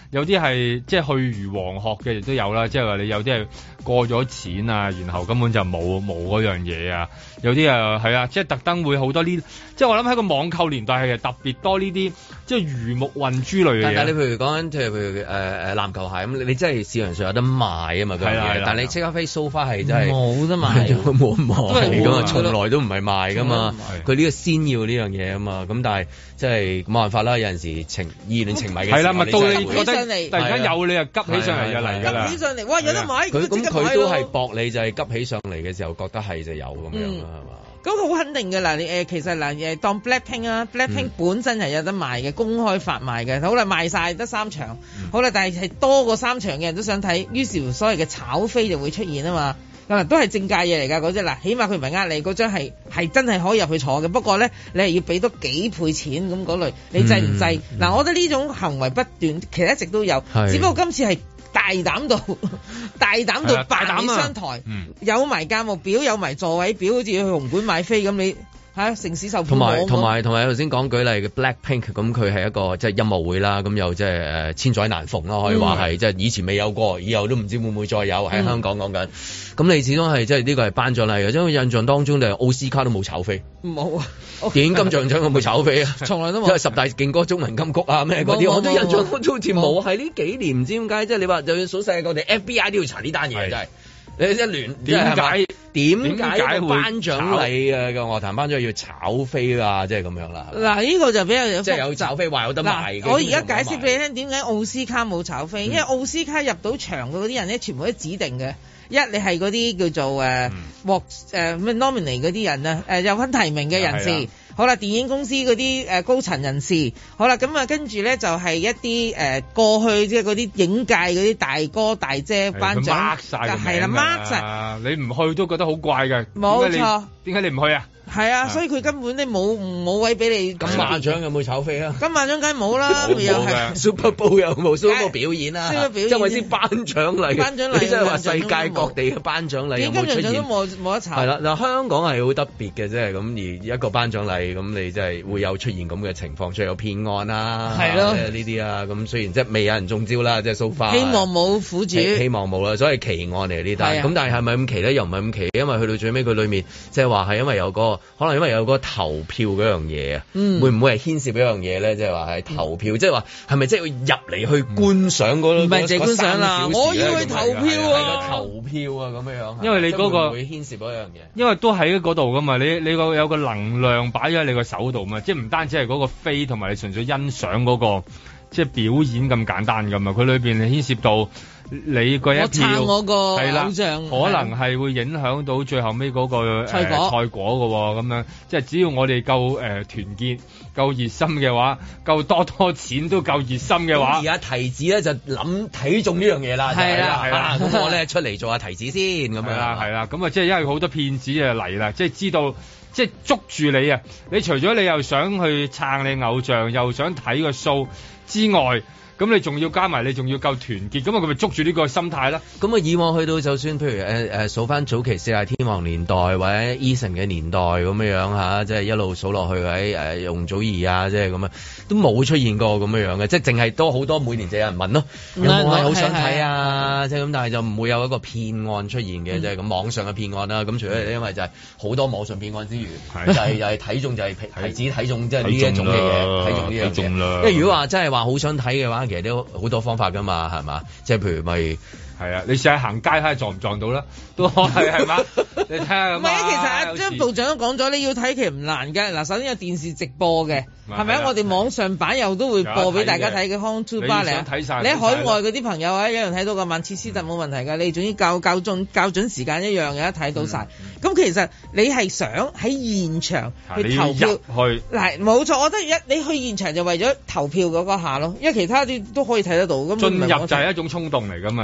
有啲係即係去如黃鶴嘅亦都有啦，即係話你有啲係過咗錢啊，然後根本就冇冇嗰樣嘢啊，有啲啊係啊，即係特登會好多呢，即係我諗喺個網購年代係特別多呢啲即係魚目混珠類嘅嘢。但係你譬如講緊，譬如誒誒籃球鞋咁，你真係市場上有得賣啊嘛，係啦，但係你即刻飛 so far 係真係冇得賣，冇得賣㗎嘛，從來都唔係賣㗎嘛，佢呢個先要呢樣嘢啊嘛，咁但係即係冇辦法啦，有陣時情意亂情迷嘅時候，係啦，咪到你覺得突然間有你就急起上嚟就嚟㗎啦，急起上嚟，哇有得買，佢咁佢都係搏你就係急起上嚟嘅時候覺得係就有咁樣啦，係嘛？咁好肯定嘅啦，你誒其實嗱誒當 Blackpink 啊 ，Blackpink 本身係有得賣嘅，公開發賣嘅，好啦賣晒得三場，好啦，但係係多過三場嘅人都想睇，於是乎所謂嘅炒飛就會出現啊嘛。嗱，都係正價嘢嚟㗎嗰隻，嗱，起碼佢唔係呃你，嗰張係係真係可以入去坐嘅。不過咧，你係要俾多幾倍錢咁嗰類，你制唔制？嗱、嗯嗯，我覺得呢種行為不斷，其實一直都有，只不過今次係大膽到大膽到百里商台，啊嗯、有埋價目表，有埋座位表，好似去紅館買飛咁你。係城市售票網同埋同埋同埋頭先講舉例嘅 Blackpink， 咁佢係一個即係音樂會啦，咁又即係誒千載難逢咯，可以話係即係以前未有過，以後都唔知會唔會再有喺香港講緊。咁、嗯、你始終係即係呢個係頒獎禮嘅，因為印象當中就係奧斯卡都冇炒飛，冇啊！電影金像獎有冇炒飛啊？從來都冇。因為十大勁歌中文金曲啊咩嗰啲，我都印象當中好似冇。係呢幾年唔知點解，即係你話就算數世界各地 F B I 都要查呢單嘢，真係。你一聯點解點解會頒獎禮啊個樂壇頒獎禮要炒飛啊？即係咁樣啦。嗱，呢個就比較有即係有炒飛話有得賣嘅。我而家解釋俾你聽，點解奧斯卡冇炒飛？嗯、因為奧斯卡入到場嘅嗰啲人咧，全部都指定嘅。一你係嗰啲叫做誒獲誒咩 nominee 嗰啲人啊，誒有份提名嘅人士。好啦，電影公司嗰啲誒高層人士，好啦，咁啊跟住咧就係一啲誒、呃、過去即係嗰啲影界嗰啲大哥大姐頒獎，係啦 mark 晒，你唔去都覺得好怪嘅，冇錯，點解你唔去啊？係啊，所以佢根本都冇冇位俾你。金馬獎有冇炒飛啊？金馬獎梗係冇啦，又係 Super Bowl 有冇 Super Bowl 表演啊？即係話先頒獎禮，頒獎禮，你即係話世界各地嘅頒獎禮有冇出現？都冇冇得炒。係啦，嗱香港係好特別嘅啫，咁而一個頒獎禮咁，你即係會有出現咁嘅情況，出有騙案啦，係咯，呢啲啊，咁雖然即係未有人中招啦，即係 so far。希望冇苦主，希望冇啦，所以奇案嚟呢單。咁但係係咪咁奇咧？又唔係咁奇，因為去到最尾佢裏面即係話係因為有個。可能因為有個投票嗰樣嘢啊，嗯、會唔會係牽涉一樣嘢咧？即係話係投票，即係話係咪即係入嚟去觀賞嗰？唔係淨係觀賞啦，我要去投票啊！投票啊咁樣樣。因為你嗰、嗰個會牽涉嗰樣嘢，因為都喺嗰度噶嘛。你你個有個能量擺咗喺你個手度嘛，即係唔單止係嗰個飛，同埋你純粹欣賞嗰、嗰個即係表演咁簡單噶嘛。佢裏邊係牽涉到。你嗰一票係啦，可能係會影響到最後尾嗰個賽果賽果嘅喎，咁樣即係只要我哋夠誒團結、夠熱心嘅話，夠多多錢都夠熱心嘅話，而家提子咧就諗睇中呢樣嘢啦，係啦係啦，咁我咧出嚟做下提子先咁樣啦，係啦，咁啊即係因為好多騙子啊嚟啦，即係知道即係捉住你啊！你除咗你又想去撐你偶像，又想睇個 show 之外。咁你仲要加埋，你仲要夠團結，咁啊佢咪捉住呢個心態啦。咁啊以往去到就算譬如誒誒數翻早期四大天王年代或者 Eason 嘅年代咁樣樣嚇，即係一路數落去喺誒容祖兒啊，即係咁啊，都冇出現過咁樣樣嘅，即係淨係多好多每年就有人問咯，有冇係好想睇啊？即係咁，但係就唔會有一個騙案出現嘅，即係咁網上嘅騙案啦。咁除咗因為就係好多網上騙案之餘，就係又係睇中就係提子睇中，即係呢一種嘅嘢，睇中呢樣嘢。因為如果話真係話好想睇嘅話，其實都好多方法噶嘛，係嘛？即係譬如咪係啊，你試下行街睇下撞唔撞到啦，都係係嘛？你睇下咁。唔係啊，其實阿張部長都講咗，你要睇其實唔難嘅。嗱，首先有電視直播嘅，係咪啊？我哋網上版又都會播俾大家睇嘅。Home to Bar 嚟啊！你喺海外嗰啲朋友啊，一樣睇到個曼徹斯特冇問題㗎。你總之校校準校準時間一樣嘅，睇到晒。咁其實你係想喺現場去投票去嗱，冇錯。我覺得一你去現場就為咗投票嗰個下咯，因為其他啲都可以睇得到。咁進入就係一種衝動嚟㗎嘛，因為。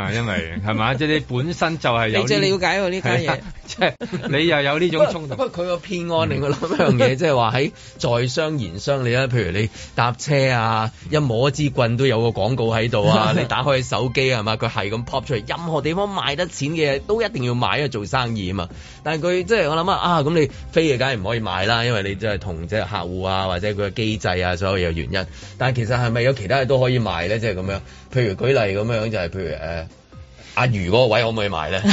係係嘛？即係你本身就係有你最了解喎呢家嘢， 即係你又有呢種衝突。 不過佢個騙案令我諗一樣嘢，即係話喺在商言商，你咧，譬如你搭車啊，一摸一支棍都有個廣告喺度啊，你打開手機係嘛，佢係咁 pop 出嚟，任何地方賣得錢嘅嘢都一定要買，因為做生意啊嘛。但係佢即係我諗啊，啊咁你飛嘅梗係唔可以買啦，因為你即係同即係客戶啊或者佢嘅機制啊所有嘢原因。但係其實係咪有其他嘢都可以賣咧？即係咁樣，譬如舉例咁樣就係、是、譬如誒。呃阿魚嗰個位可唔可以賣咧？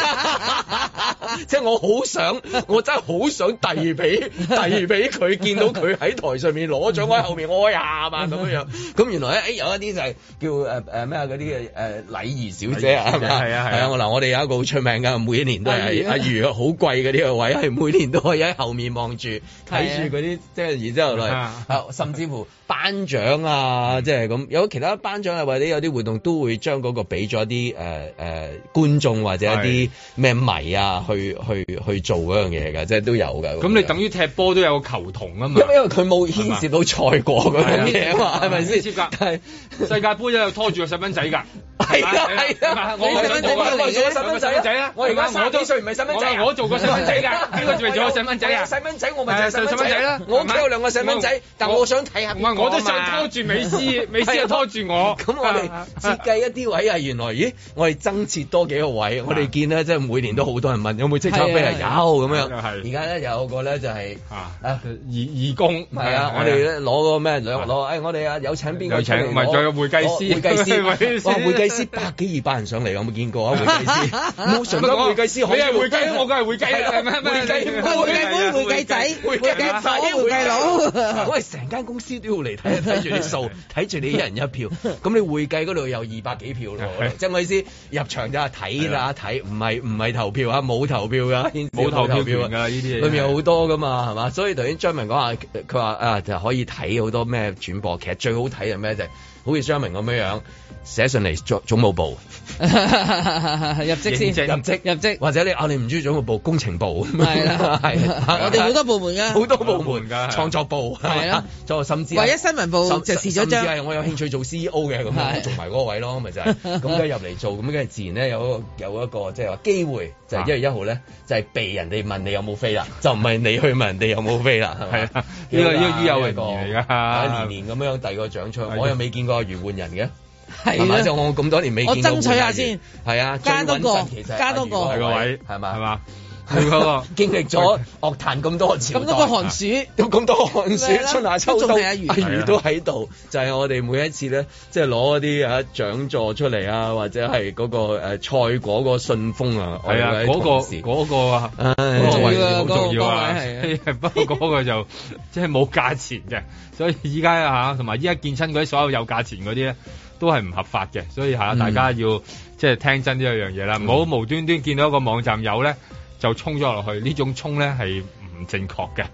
即係我好想，我真係好想遞俾遞俾佢，見到佢喺台上面攞獎，我喺後面我呀嘛咁樣樣。咁原來咧，誒有一啲就係叫誒誒咩啊嗰啲嘅誒禮儀小姐啊，係咪？係啊係啊。我嗱我哋有一個好出名㗎，每一年都係阿魚好貴嘅呢個位，係每年都可以喺後面望住睇住嗰啲，即係然之後嚟，甚至乎頒獎啊，即係咁有其他頒獎啊或者有啲活動都會將嗰個俾咗啲誒。誒、呃、觀眾或者一啲咩迷啊，去去去做嗰樣嘢㗎，即係都有㗎。 咁你等於踢波都有個球童啊嘛， 因為因為佢冇牽涉到賽果嗰樣嘢啊嘛，係咪先？ 係世界盃又拖住個細蚊仔㗎。 係啊係啊，我細蚊仔邊個做細蚊仔啊？我而家三幾歲唔係細蚊仔， 我做過細蚊仔㗎。邊個仲做過細蚊仔啊？ 細蚊仔我咪就係細蚊仔啦。我屋企有兩個細蚊仔，但我想睇下。 唔係我都想拖住美斯，美斯又拖住我。 咁我哋設計一啲位係原來，咦？我哋增設多幾個位，我哋見咧即係每年都好多人問有冇即刻飛啊？有咁樣。而家咧有個咧就係啊義義工係啊！我哋咧攞個咩兩攞誒？我哋啊有請邊個出嚟？ 唔係仲有會計師， 會計師哇！會計師百幾二百人上嚟，有冇見過啊？會計師冇常講會計師， 你係會計，我梗係會計啦，係咪？會計會計妹、會計仔、會計仔、會計佬， 我哋成間公司都要嚟睇睇住啲數，睇住你一人一票。咁你會計嗰度有二百幾票咯，即係我意思入場就係睇啦，睇唔係唔係投票啊，冇投票噶， 冇投票㗎呢啲嘢， 裏面有好多噶嘛，係嘛？所以頭先張明講話，佢話啊就可以睇好多咩轉播，其實最好睇係咩就係好似張明咁樣樣寫上嚟總總務部。 入職先， 入職入職，或者你啊，你唔中意總務部，工程部係啦，係我哋好多部門㗎， 好多部門㗎，創作部係啦，就甚至唯一新聞部就辭咗張， 甚至係我有興趣做 C E O 嘅咁樣做埋嗰個位咯，咪就係咁梗係入嚟做，咁梗係自然咧有有一個即係話機會，就係一月一號咧就係被人哋問你有冇飛啦，就唔係你去問人哋有冇飛啦，係啊， 呢個呢個於有榮嚟㗎，年年咁樣遞個獎出，我又未見過袁換人嘅。係嘛？就我咁多年未見過。 我爭取下先。 係啊， 加多個，加多個係個位，係嘛？ 係嘛？ 係嗰個經歷咗樂壇咁多朝代， 咁多個寒暑， 有咁多寒暑，春夏秋冬，阿魚阿魚都喺度。就係我哋每一次咧，即係攞啲啊獎座出嚟啊，或者係嗰個誒賽果個信封啊。 係啊，嗰個嗰個啊，好重要啊，好重要啊。不過嗰個就即係冇價錢嘅，所以依家啊嚇，同埋依家見親嗰啲所有有價錢嗰啲咧。都係唔合法嘅，所以嚇大家要、嗯、即係聽真呢一樣嘢啦，唔好、嗯、無端端見到一個網站有咧就衝咗落去，呢種衝咧係唔正確嘅。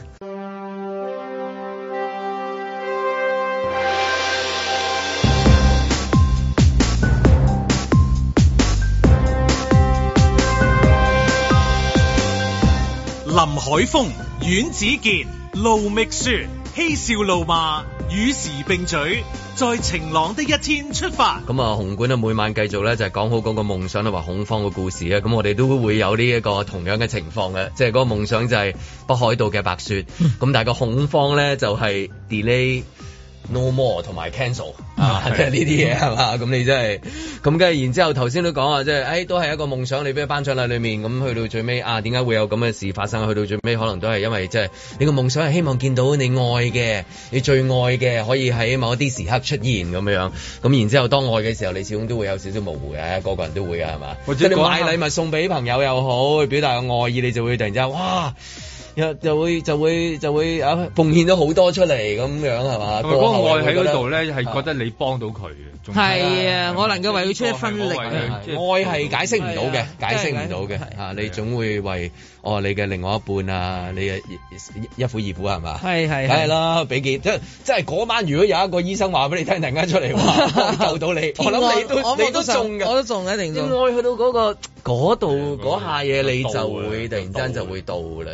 林海峰、阮子健、盧覓雪，嬉笑怒罵，與時並舉，在晴朗的一天出發。 咁啊，紅館啊，每晚繼續咧就係講好嗰個夢想同埋恐慌嘅故事啊。咁我哋都會有呢一個同樣嘅情況嘅，即係嗰個夢想就係北海道嘅白雪，咁、嗯、但係個恐慌咧就係 delay、no more 同埋 cancel 啊，即係呢啲嘢係嘛？咁你真係咁，跟住然之後頭先都講啊，即係誒都係一個夢想，你俾頒獎禮裏面咁去到最尾啊，點解會有咁嘅事發生？去到最尾可能都係因為即係你個夢想係希望見到你愛嘅、你最愛嘅可以喺某一啲時刻出現咁樣。咁然之後當愛嘅時候，你始終都會有少少模糊嘅，個個人都會嘅係嘛？即係你買禮物送俾朋友又好，去表達個愛意，你就會突然之間哇！又就會就會就會啊奉獻咗好多出嚟咁樣係嘛？ 嗰個愛喺嗰度咧，係覺得你幫到佢嘅。 係啊，我能夠為佢出一分力。 愛係解釋唔到嘅，解釋唔到嘅嚇。你總會為哦你嘅另外一半啊，你嘅一夫二婦係嘛？係係。梗係啦，俾幾即即係嗰晚，如果有一個醫生話俾你聽，突然間出嚟話救到你，我諗你都你都中嘅， 我都中一定中。 愛去到嗰個嗰度嗰下嘢，你就會突然間就會到啦，真係。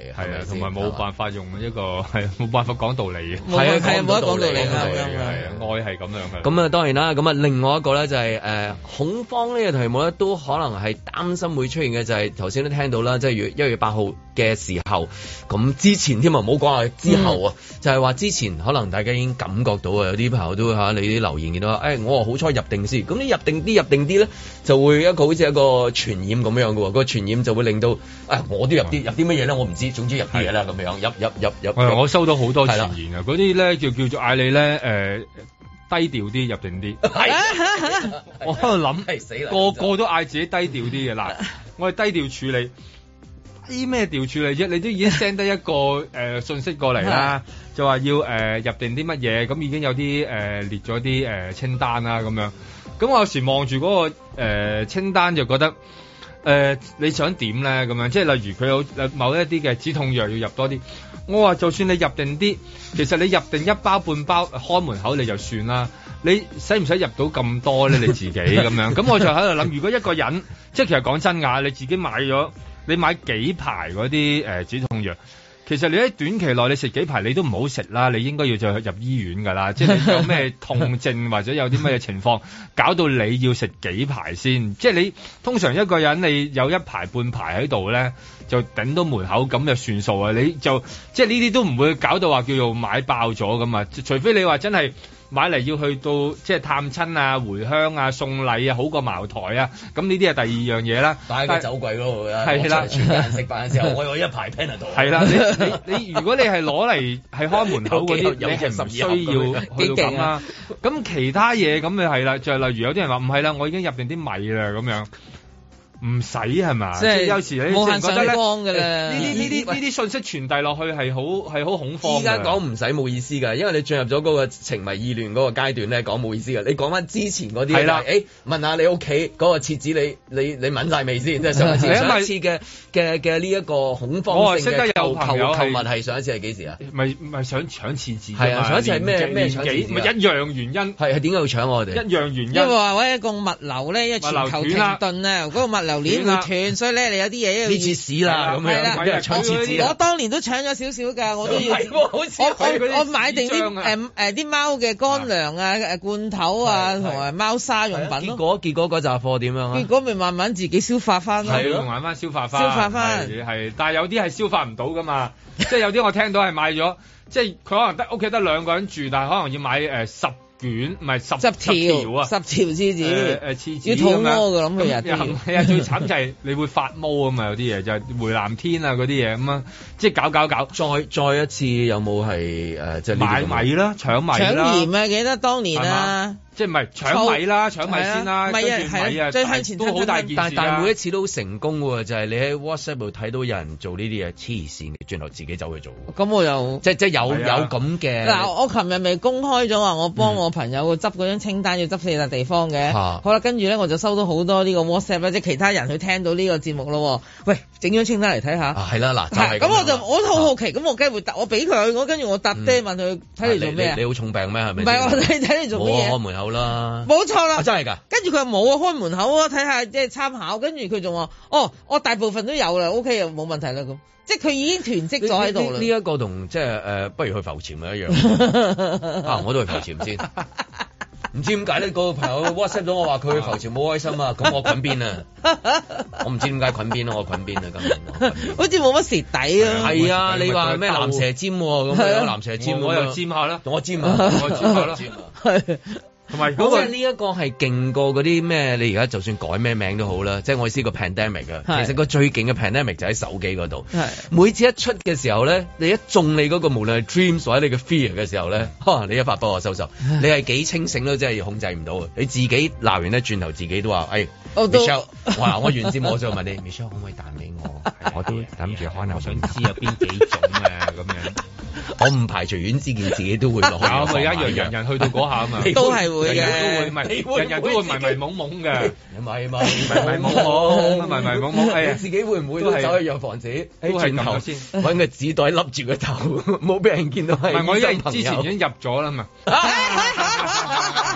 係啊，同埋冇辦法用一個係冇辦法講道理嘅， 係啊係啊冇得講道理係啊， 愛係咁樣嘅。 咁啊當然啦，咁啊另外一個咧就係、是、誒、呃、恐慌呢個題目咧，都可能係擔心會出現嘅，就係頭先都聽到啦，即係月一月八號嘅時候，咁之前添啊，唔好講話之後啊，嗯、就係話之前可能大家已經感覺到啊，有啲朋友都嚇你啲留言見到，誒、哎、我好彩入定先，咁你入定啲入定啲咧，就會一個好似一個傳染咁樣嘅喎，個傳染就會令到誒、哎、我都入啲入啲乜嘢咧，我唔知，總之入啲嘢啦咁樣，入入入入。 係我收到好多傳言啊，嗰啲咧叫叫做嗌你咧誒。呃低調啲入定啲，我喺度諗，個個都嗌自己低調啲嘅嗱，我係低調處理，啲咩調處理啫？你都已經 send 得一個誒、呃、信息過嚟啦，就話要誒、呃、入定啲乜嘢，咁已經有啲誒、呃、列咗啲誒清單啦咁樣，咁我有時望住嗰個、呃、清單就覺得。誒、呃，你想點咧？咁樣即係例如佢有某一啲嘅止痛藥要入多啲，我話就算你入定啲，其實你入定一包半包開門口你就算啦。你使唔使入到咁多咧？你自己咁樣，咁我就喺度諗，如果一個人即係其實講真㗎，你自己買咗，你買幾排嗰啲誒止痛藥。其實你喺短期內你食幾排你都唔好食啦，你應該要再入醫院㗎啦。即係你有咩痛症或者有啲咩情況，搞到你要食幾排先。即係你通常一個人你有一排半排喺度咧，就頂到門口咁就算數啊。你就即係呢啲都唔會搞到話叫做買爆咗咁啊。除非你話真係。買嚟要去到即係探親啊、回鄉啊、送禮啊，好過茅台啊，咁呢啲係第二樣嘢啦。擺喺個酒櫃嗰度啊，係啦，全家人食飯嘅時候，我有一排 Panadol。係啦，你你你，如果你係攞嚟係開門口嗰啲，你係唔需要去到咁啦。咁其他嘢咁咪係啦，就係例如有啲人話唔係啦，我已經入定啲米啦咁樣。唔使係嘛？即係有時你冇限上光㗎啦。呢啲呢啲呢啲信息傳遞落去係好係好恐慌。依家講唔使冇意思㗎，因為你進入咗嗰個情迷意亂嗰個階段咧，講冇意思㗎。你講翻之前嗰啲係啦，誒問下你屋企嗰個廁紙你你你抿晒未先？即係上一次上一次嘅嘅嘅呢一個恐慌性嘅購購購物係上一次係幾時啊？咪咪想搶廁紙係啊！上一次係咩咩搶廁紙？咪一樣原因係係點解要搶我哋？一樣原因因為話喂一個物流咧，因為全球停頓啊，嗰個物流鏈會斷，所以咧你有啲嘢呢次屎啦咁樣，搶廁紙。我當年都搶咗少少㗎，我都要。好似我我買定啲誒誒啲貓嘅乾糧啊、誒罐頭啊同埋貓砂用品咯。結果結果嗰紮貨點樣啊？結果咪慢慢自己消化翻咯。係咯，慢慢消化翻。消化翻係，但係有啲係消化唔到㗎嘛。即係有啲我聽到係買咗，即係佢可能得屋企得兩個人住，但係可能要買誒十。卷唔係十十條啊，十條廁紙，誒誒廁紙要肚屙㗎，咁佢日係啊，最慘就係你會發毛啊嘛，有啲嘢就係回南天啊嗰啲嘢咁啊，即係搞搞搞，再再一次有冇係誒即係買米啦，搶米啦，搶鹽啊，記得當年啊。即係唔係搶米啦，搶米先啦，跟住米啊，最向前都好大件事。但但每一次都成功喎，就係你喺 WhatsApp 度睇到有人做呢啲嘢黐線嘅，轉頭自己走去做。咁我又即即有有咁嘅。嗱，我琴日咪公開咗話，我幫我朋友執嗰張清單，要執四笪地方嘅。好啦，跟住咧我就收到好多呢個 WhatsApp 咧，即係其他人去聽到呢個節目咯。喂，整張清單嚟睇下。係啦，嗱，就係咁。咁我就我都好好奇，咁我梗係會答，我俾佢，我跟住我答爹問佢睇你做咩啊？你好重病咩？係咪？唔係，我睇睇你做咩嘢？開門口啦。冇錯啦，真係㗎。跟住佢話冇啊，開門口啊，睇下即係參考。跟住佢仲話：哦，我大部分都有啦 ，OK 又冇問題啦咁。即係佢已經囤積咗喺度啦。呢一個同即係誒，不如去浮潛咪一樣。啊，我都去浮潛先。唔知點解呢個朋友 WhatsApp 咗我話佢去浮潛冇開心啊，咁我滾邊啊？我唔知點解滾邊咯，我滾邊啊咁。好似冇乜蝕底啊。係啊，你話咩藍蛇尖咁樣藍蛇尖，我又尖下啦，同我尖啊，我尖下啦。係。同埋嗰個呢一個係勁過嗰啲咩？你而家就算改咩名都好啦，即係我意思個 pandemic 啊。其實個最勁嘅 pandemic 就喺手機嗰度。係每次一出嘅時候咧，你一中你嗰個無論係 dreams 或者你嘅 fear 嘅時候咧，你一發幫我收收，你係幾清醒都真係控制唔到。你自己鬧完咧，轉頭自己都話：誒 Michelle，哇！我原先我就問你 Michelle 可唔可以彈俾我？我都諗住可能我想知有邊幾種啊咁樣。我唔排除阮之健自己都會落去。有咪一樣人人去到嗰下啊嘛，都係會嘅，都會唔人人都會迷迷懵懵嘅，迷迷迷迷懵懵，迷迷懵懵。係啊，自己會唔會都走去藥房自己轉頭先揾個紙袋笠住個頭，冇俾人見到係。唔係我因為之前已經入咗啦嘛。唔係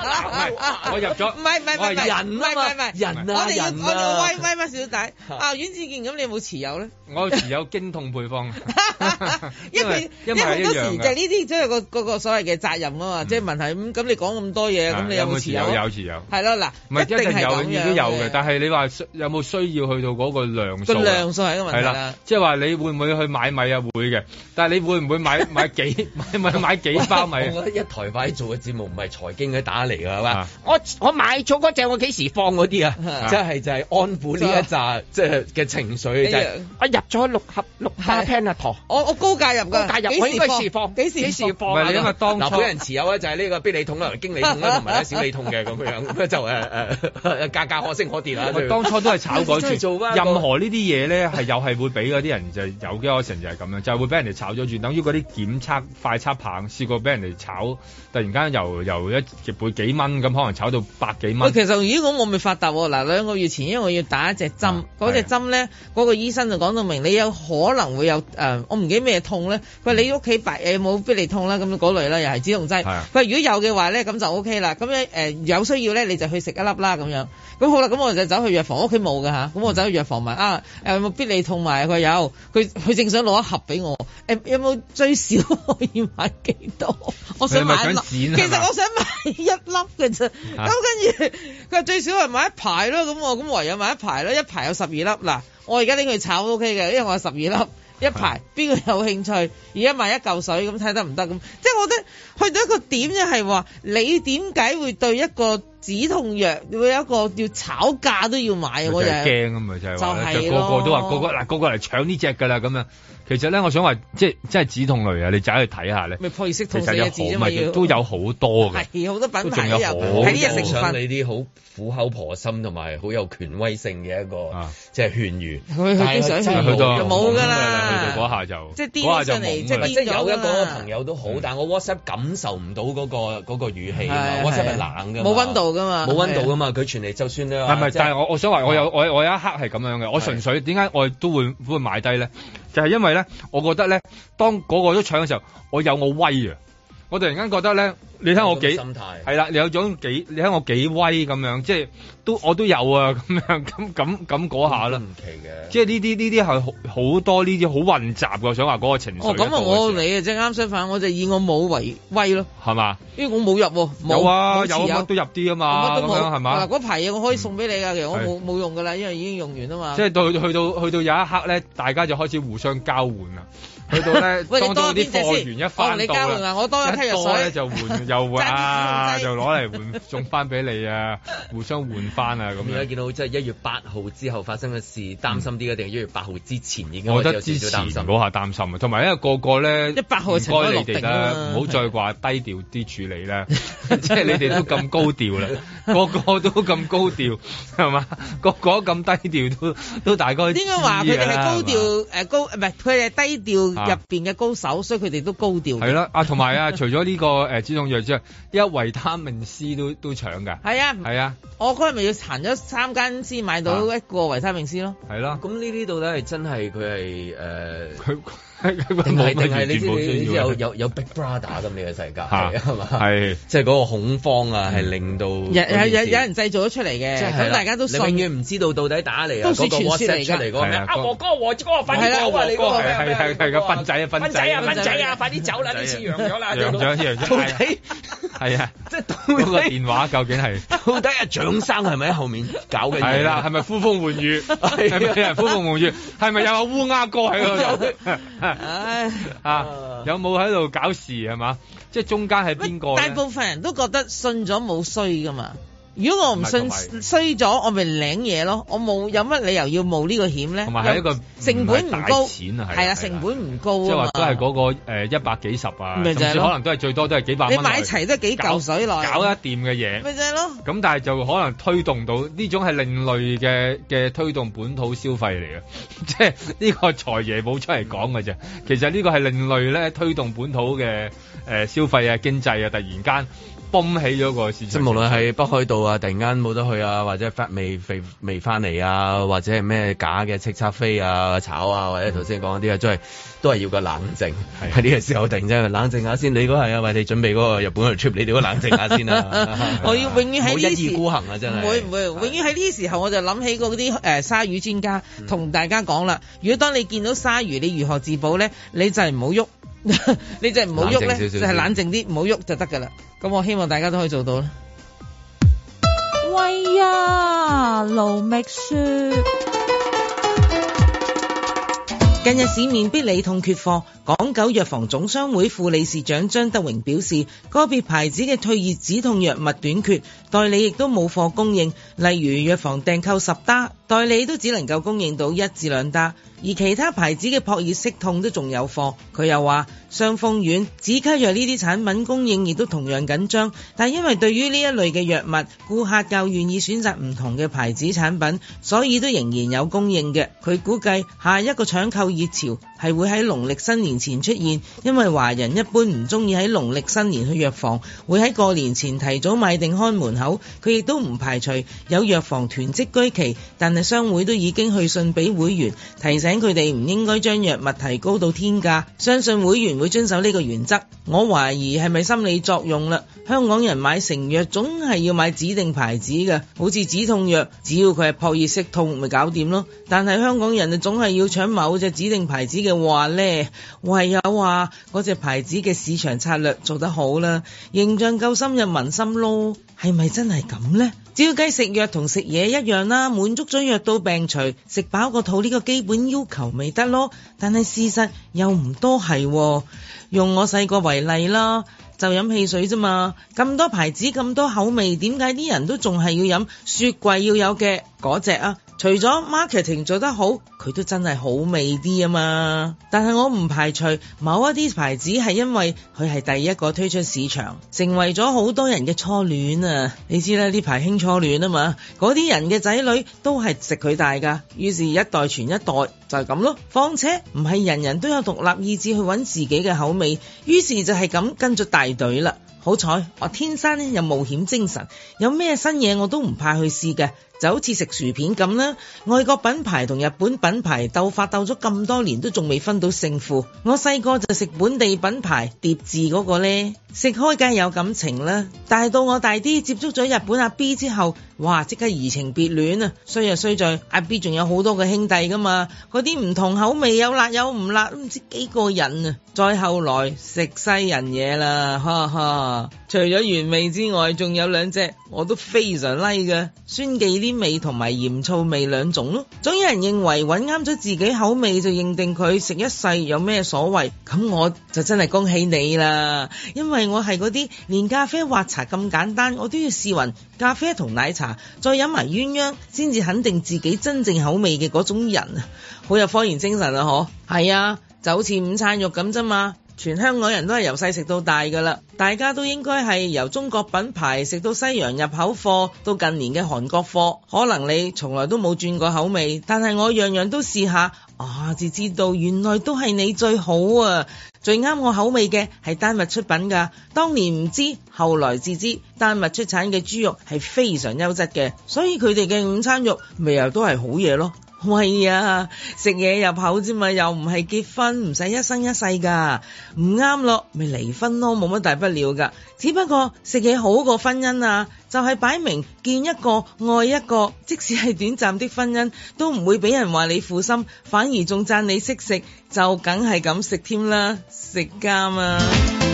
我入咗， 唔係唔係唔係人啊嘛， 唔係唔係人啊， 我哋要人我哋威威乜小弟啊，阮志健咁，你有冇持有咧？ 我持有經痛配方， 因為因為好多時就係呢啲即係個嗰個所謂嘅責任啊嘛，即係問題咁咁你講咁多嘢，咁你有冇持有？ 有持有， 係咯嗱， 唔係一定係有，亦都有嘅。但係你話有冇需要去到嗰個量數？個量數係個問題啦，即係話你會唔會去買米啊？會嘅，但係你會唔會買買幾買買買幾包米？ 我覺得一台快做嘅節目唔係財經嘅打嚟㗎，係嘛？ 我我買咗嗰隻，我幾時放嗰啲啊？ 即係就係安撫呢一紮即係嘅情緒，就係我入咗六盒六包 Panator， 我我高價入㗎， 高價入，我應該時放，幾時幾時放？ 唔係因為當初嗱，本人持有咧就係呢個必理痛啦、經理痛啦同埋咧小理痛嘅咁樣，咁就誒誒價格可升可跌啦。 我當初都係炒改住，任何呢啲嘢咧係又係會俾嗰啲人就有機可乘就係咁樣，就係會俾人哋炒咗轉，等於嗰啲檢測快測棒試過俾人哋炒，突然間由由一倍幾蚊咁，可能炒到百幾蚊。 其實如果我未發達喎，嗱兩個月前因為我要打一隻針，嗰隻針咧嗰個醫生就講到明，你有可能會有誒，我唔記得咩痛咧。佢話你屋企白誒冇必理痛啦，咁嗰類啦，又係止痛劑。佢話如果有嘅話咧，咁就 O K 啦。咁樣誒有需要咧，你就去食一粒啦咁樣。咁好啦，咁我就走去藥房，屋企冇㗎吓，咁我走去藥房問啊誒有冇必理痛埋？佢有，佢佢正想攞一盒俾我。誒有冇最少可以買幾多？我想買一粒，其實我想買一粒嘅啫。咁跟住佢話最少係買一排咯，咁我咁唯有買一排咯，一排有十二粒。嗱，我而家拎去炒 O K 嘅，因為我有十二粒。一排邊個有興趣？而家賣一嚿水咁睇得唔得咁？即係我覺得去到一個點就係話，你點解會對一個止痛藥會有一個要炒價都要買？我就係驚啊嘛，就係話就個個都話個個嗱個個嚟搶呢隻㗎啦咁樣。其實咧，我想話即係即係止痛類啊，你走去睇下咧。 咪破熱息痛四個字啫嘛， 都有好多嘅。 係好多品牌都有， 喺呢隻成分。 你啲好苦口婆心同埋好有權威性嘅一個即係勸喻。 佢佢經常勸喻就冇㗎啦。 去到嗰下就即係癲上嚟，即係即係有一個朋友都好，但係我 WhatsApp 感受唔到嗰個嗰個語氣啊嘛。WhatsApp 係冷㗎嘛， 冇溫度㗎嘛， 冇溫度㗎嘛。佢傳嚟就算咧。 係咪？但係我我想話，我有我我有一刻係咁樣嘅。我純粹點解我都會會買低咧？就係因為咧，我覺得咧，當嗰個都搶嘅時候，我有我威啊！我突然間覺得咧，你睇我幾心態係啦，你有種幾，你睇我幾威咁樣，即係都我都有啊咁樣，咁咁咁嗰下啦。唔奇嘅，即係呢啲呢啲係好好多呢啲好混雜嘅，我想話嗰個情緒。 哦，咁啊，我你啊，即係啱相反，我就以我冇為威咯，係嘛？ 因為我冇入喎， 有啊，有乜都入啲啊嘛，咁樣係嘛？ 嗱，嗰排嘢我可以送俾你㗎，其實我冇冇用㗎啦，因為已經用完啊嘛。 即係到去到去到有一刻咧，大家就開始互相交換啦。去到咧，當到啲貨源一翻到啦， 我多一批藥水咧就換又換啊，就攞嚟換送翻俾你啊，互相換翻啊咁樣。 而家見到即係一月八號之後發生嘅事，擔心啲嘅定係一月八號之前已經我覺得之前嗰下擔心啊，同埋因為個個咧， 一八號唔該你哋啦，唔好再話低調啲處理啦，即係你哋都咁高調啦，個個都咁高調係嘛，個個咁低調都都大概應該話佢哋係高調誒高，唔係佢係低調。入邊嘅高手，所以佢哋都高調。 係啦，啊同埋啊，除咗呢個誒止痛藥之外，一維他命 C 都都搶㗎。係啊，係啊， 我嗰日咪要行咗三間先買到一個維他命 C 咯。 係咯， 咁呢啲到底係真係佢係誒佢。 定係定係你知你知有有有 Big Brother 咁呢個世界係嘛？係即係嗰個恐慌啊，係令到有有有有人製造咗出嚟嘅，咁大家都信。 你永遠唔知道到底打嚟啊嗰個 WhatsApp 出嚟嗰個咩？阿和哥和哥快啲走啊！你嗰個係係係個笨仔啊笨仔啊笨仔啊！快啲走啦！呢次揚咗啦， 揚咗揚咗。到底係啊？即係嗰個電話究竟係到底阿蔣生係咪喺後面搞嘅？ 係啦，係咪呼風喚雨？係咪有人呼風喚雨？係咪有阿烏鴉哥喺嗰度？ 唉啊，有冇喺度搞事係嘛？即係中間係邊個？ 大部分人都覺得信咗冇衰噶嘛。如果我唔信衰咗，我咪領嘢咯。我冇有乜理由要冒呢個險咧？ 同埋係一個成本唔高， 錢啊係啊，成本唔高啊。 即係話都係嗰個誒一百幾十啊，甚至可能都係最多都係幾百蚊。 你買齊都係幾嚿水來搞一掂嘅嘢， 咪就係咯。 咁但係就可能推動到呢種係另類嘅嘅推動本土消費嚟嘅，即係呢個財爺冇出嚟講嘅啫。其實呢個係另類咧推動本土嘅誒消費啊經濟啊，突然間泵起咗個市場。 即係無論係北海道啊，突然間冇得去啊，或者發未未未翻嚟啊，或者係咩假嘅叱咤飛啊、炒啊，或者頭先講嗰啲啊，都係都係要個冷靜。喺呢個時候突然間冷靜下先。你嗰係啊，為你準備嗰個日本嘅 trip，你哋都冷靜下先啊。 我要永遠喺呢一意孤行啊，真係。 唔會唔會，永遠喺呢時候我就諗起嗰啲誒鯊魚專家同大家講啦。如果當你見到鯊魚，你如何自保咧？你就係唔好喐，你就係唔好喐咧，就係冷靜啲，唔好喐就得㗎啦。咁我希望大家都可以做到啦。 喂呀，盧覓雪。 近日市面必理痛缺貨，港九藥房總商會副理事長張德榮表示，個別牌子嘅退熱止痛藥物短缺，代理亦都冇貨供應，例如藥房訂購十打，代理都只能夠供應到一至兩打，而其他牌子嘅撲熱息痛都仲有貨。佢又話，傷風丸、止咳藥呢啲產品供應亦都同樣緊張，但因為對於呢一類嘅藥物，顧客較願意選擇唔同嘅牌子產品，所以都仍然有供應嘅。佢估計下一個搶購熱潮係會喺農曆新年前出現，因為華人一般唔中意喺農曆新年去藥房，會喺過年前提早買定看門口。佢亦都唔排除有藥房囤積居奇，但係商會都已經去信俾會員，提醒佢哋唔應該將藥物提高到天價，相信會員會遵守呢個原則。我懷疑係咪心理作用啦？香港人買成藥總係要買指定牌子嘅，好似止痛藥，只要佢係撲熱息痛咪搞掂咯。但係香港人就總係要搶某隻指定牌子嘅話呢，唯有話嗰隻牌子嘅市場策略做得好啦，形象夠深入民心咯。係咪真係咁呢？照計食藥同食嘢一樣啦，滿足咗藥到病除，食飽個肚呢個基本要求咪得咯。但係事實又唔多係喎。用我細個為例啦，就飲汽水啫嘛，咁多牌子咁多口味，點解啲人都仲係要飲雪櫃要有嘅嗰隻啊？除咗 marketing 做得好，佢都真係好味啲啊嘛。但係我唔排除某一啲牌子係因為佢係第一個推出市場，成為咗好多人嘅初戀啊。你知啦，呢排興初戀啊嘛，嗰啲人嘅仔女都係食佢大噶，於是一代傳一代就係咁咯。況且唔係人人都有獨立意志去揾自己嘅口味，於是就係咁跟咗大隊啦。好彩我天生咧有冒險精神，有咩新嘢我都唔怕去試嘅，就好似食薯片咁啦。外國品牌同日本品牌鬥法鬥咗咁多年都仲未分到勝負，我細個就食本地品牌疊字嗰個呢，食開梗係有感情啦。但係到我大啲接觸咗日本阿 B 之後，哇即刻移情別戀啊！衰就衰在阿 B 仲有好多個兄弟噶嘛，嗰啲唔同口味有辣有唔辣都唔知幾個人啊。再後來食西人嘢啦，哈哈！除咗原味之外，仲有兩隻我都非常 like 嘅，酸忌廉味同埋鹽醋味兩種咯。總有人認為揾啱咗自己口味就認定佢食一世有咩所謂，咁我就真係恭喜你啦，因為我係嗰啲連咖啡或茶咁簡單我都要試勻咖啡同奶茶，再飲埋鴛鴦先至肯定自己真正口味嘅嗰種人啊，好有科研精神啊！嗬，係啊，就好似午餐肉咁啫嘛。全香港人都係由細食到大㗎啦，大家都應該係由中國品牌食到西洋入口貨，到近年嘅韓國貨。可能你從來都冇轉過口味，但係我樣樣都試下，啊，至知道原來都係你最好啊！最啱我口味嘅係丹麥出品㗎，當年唔知，後來至知丹麥出產嘅豬肉係非常優質嘅，所以佢哋嘅午餐肉咪又都係好嘢咯。喂呀，食嘢入口啫嘛，又唔係結婚，唔使一生一世噶，唔啱咯，咪離婚咯，冇乜大不了噶。只不過食嘢好過婚姻啊，就係擺明見一個愛一個，即使係短暫的婚姻，都唔會俾人話你負心，反而仲讚你識食，就梗係咁食添啦，食家嘛。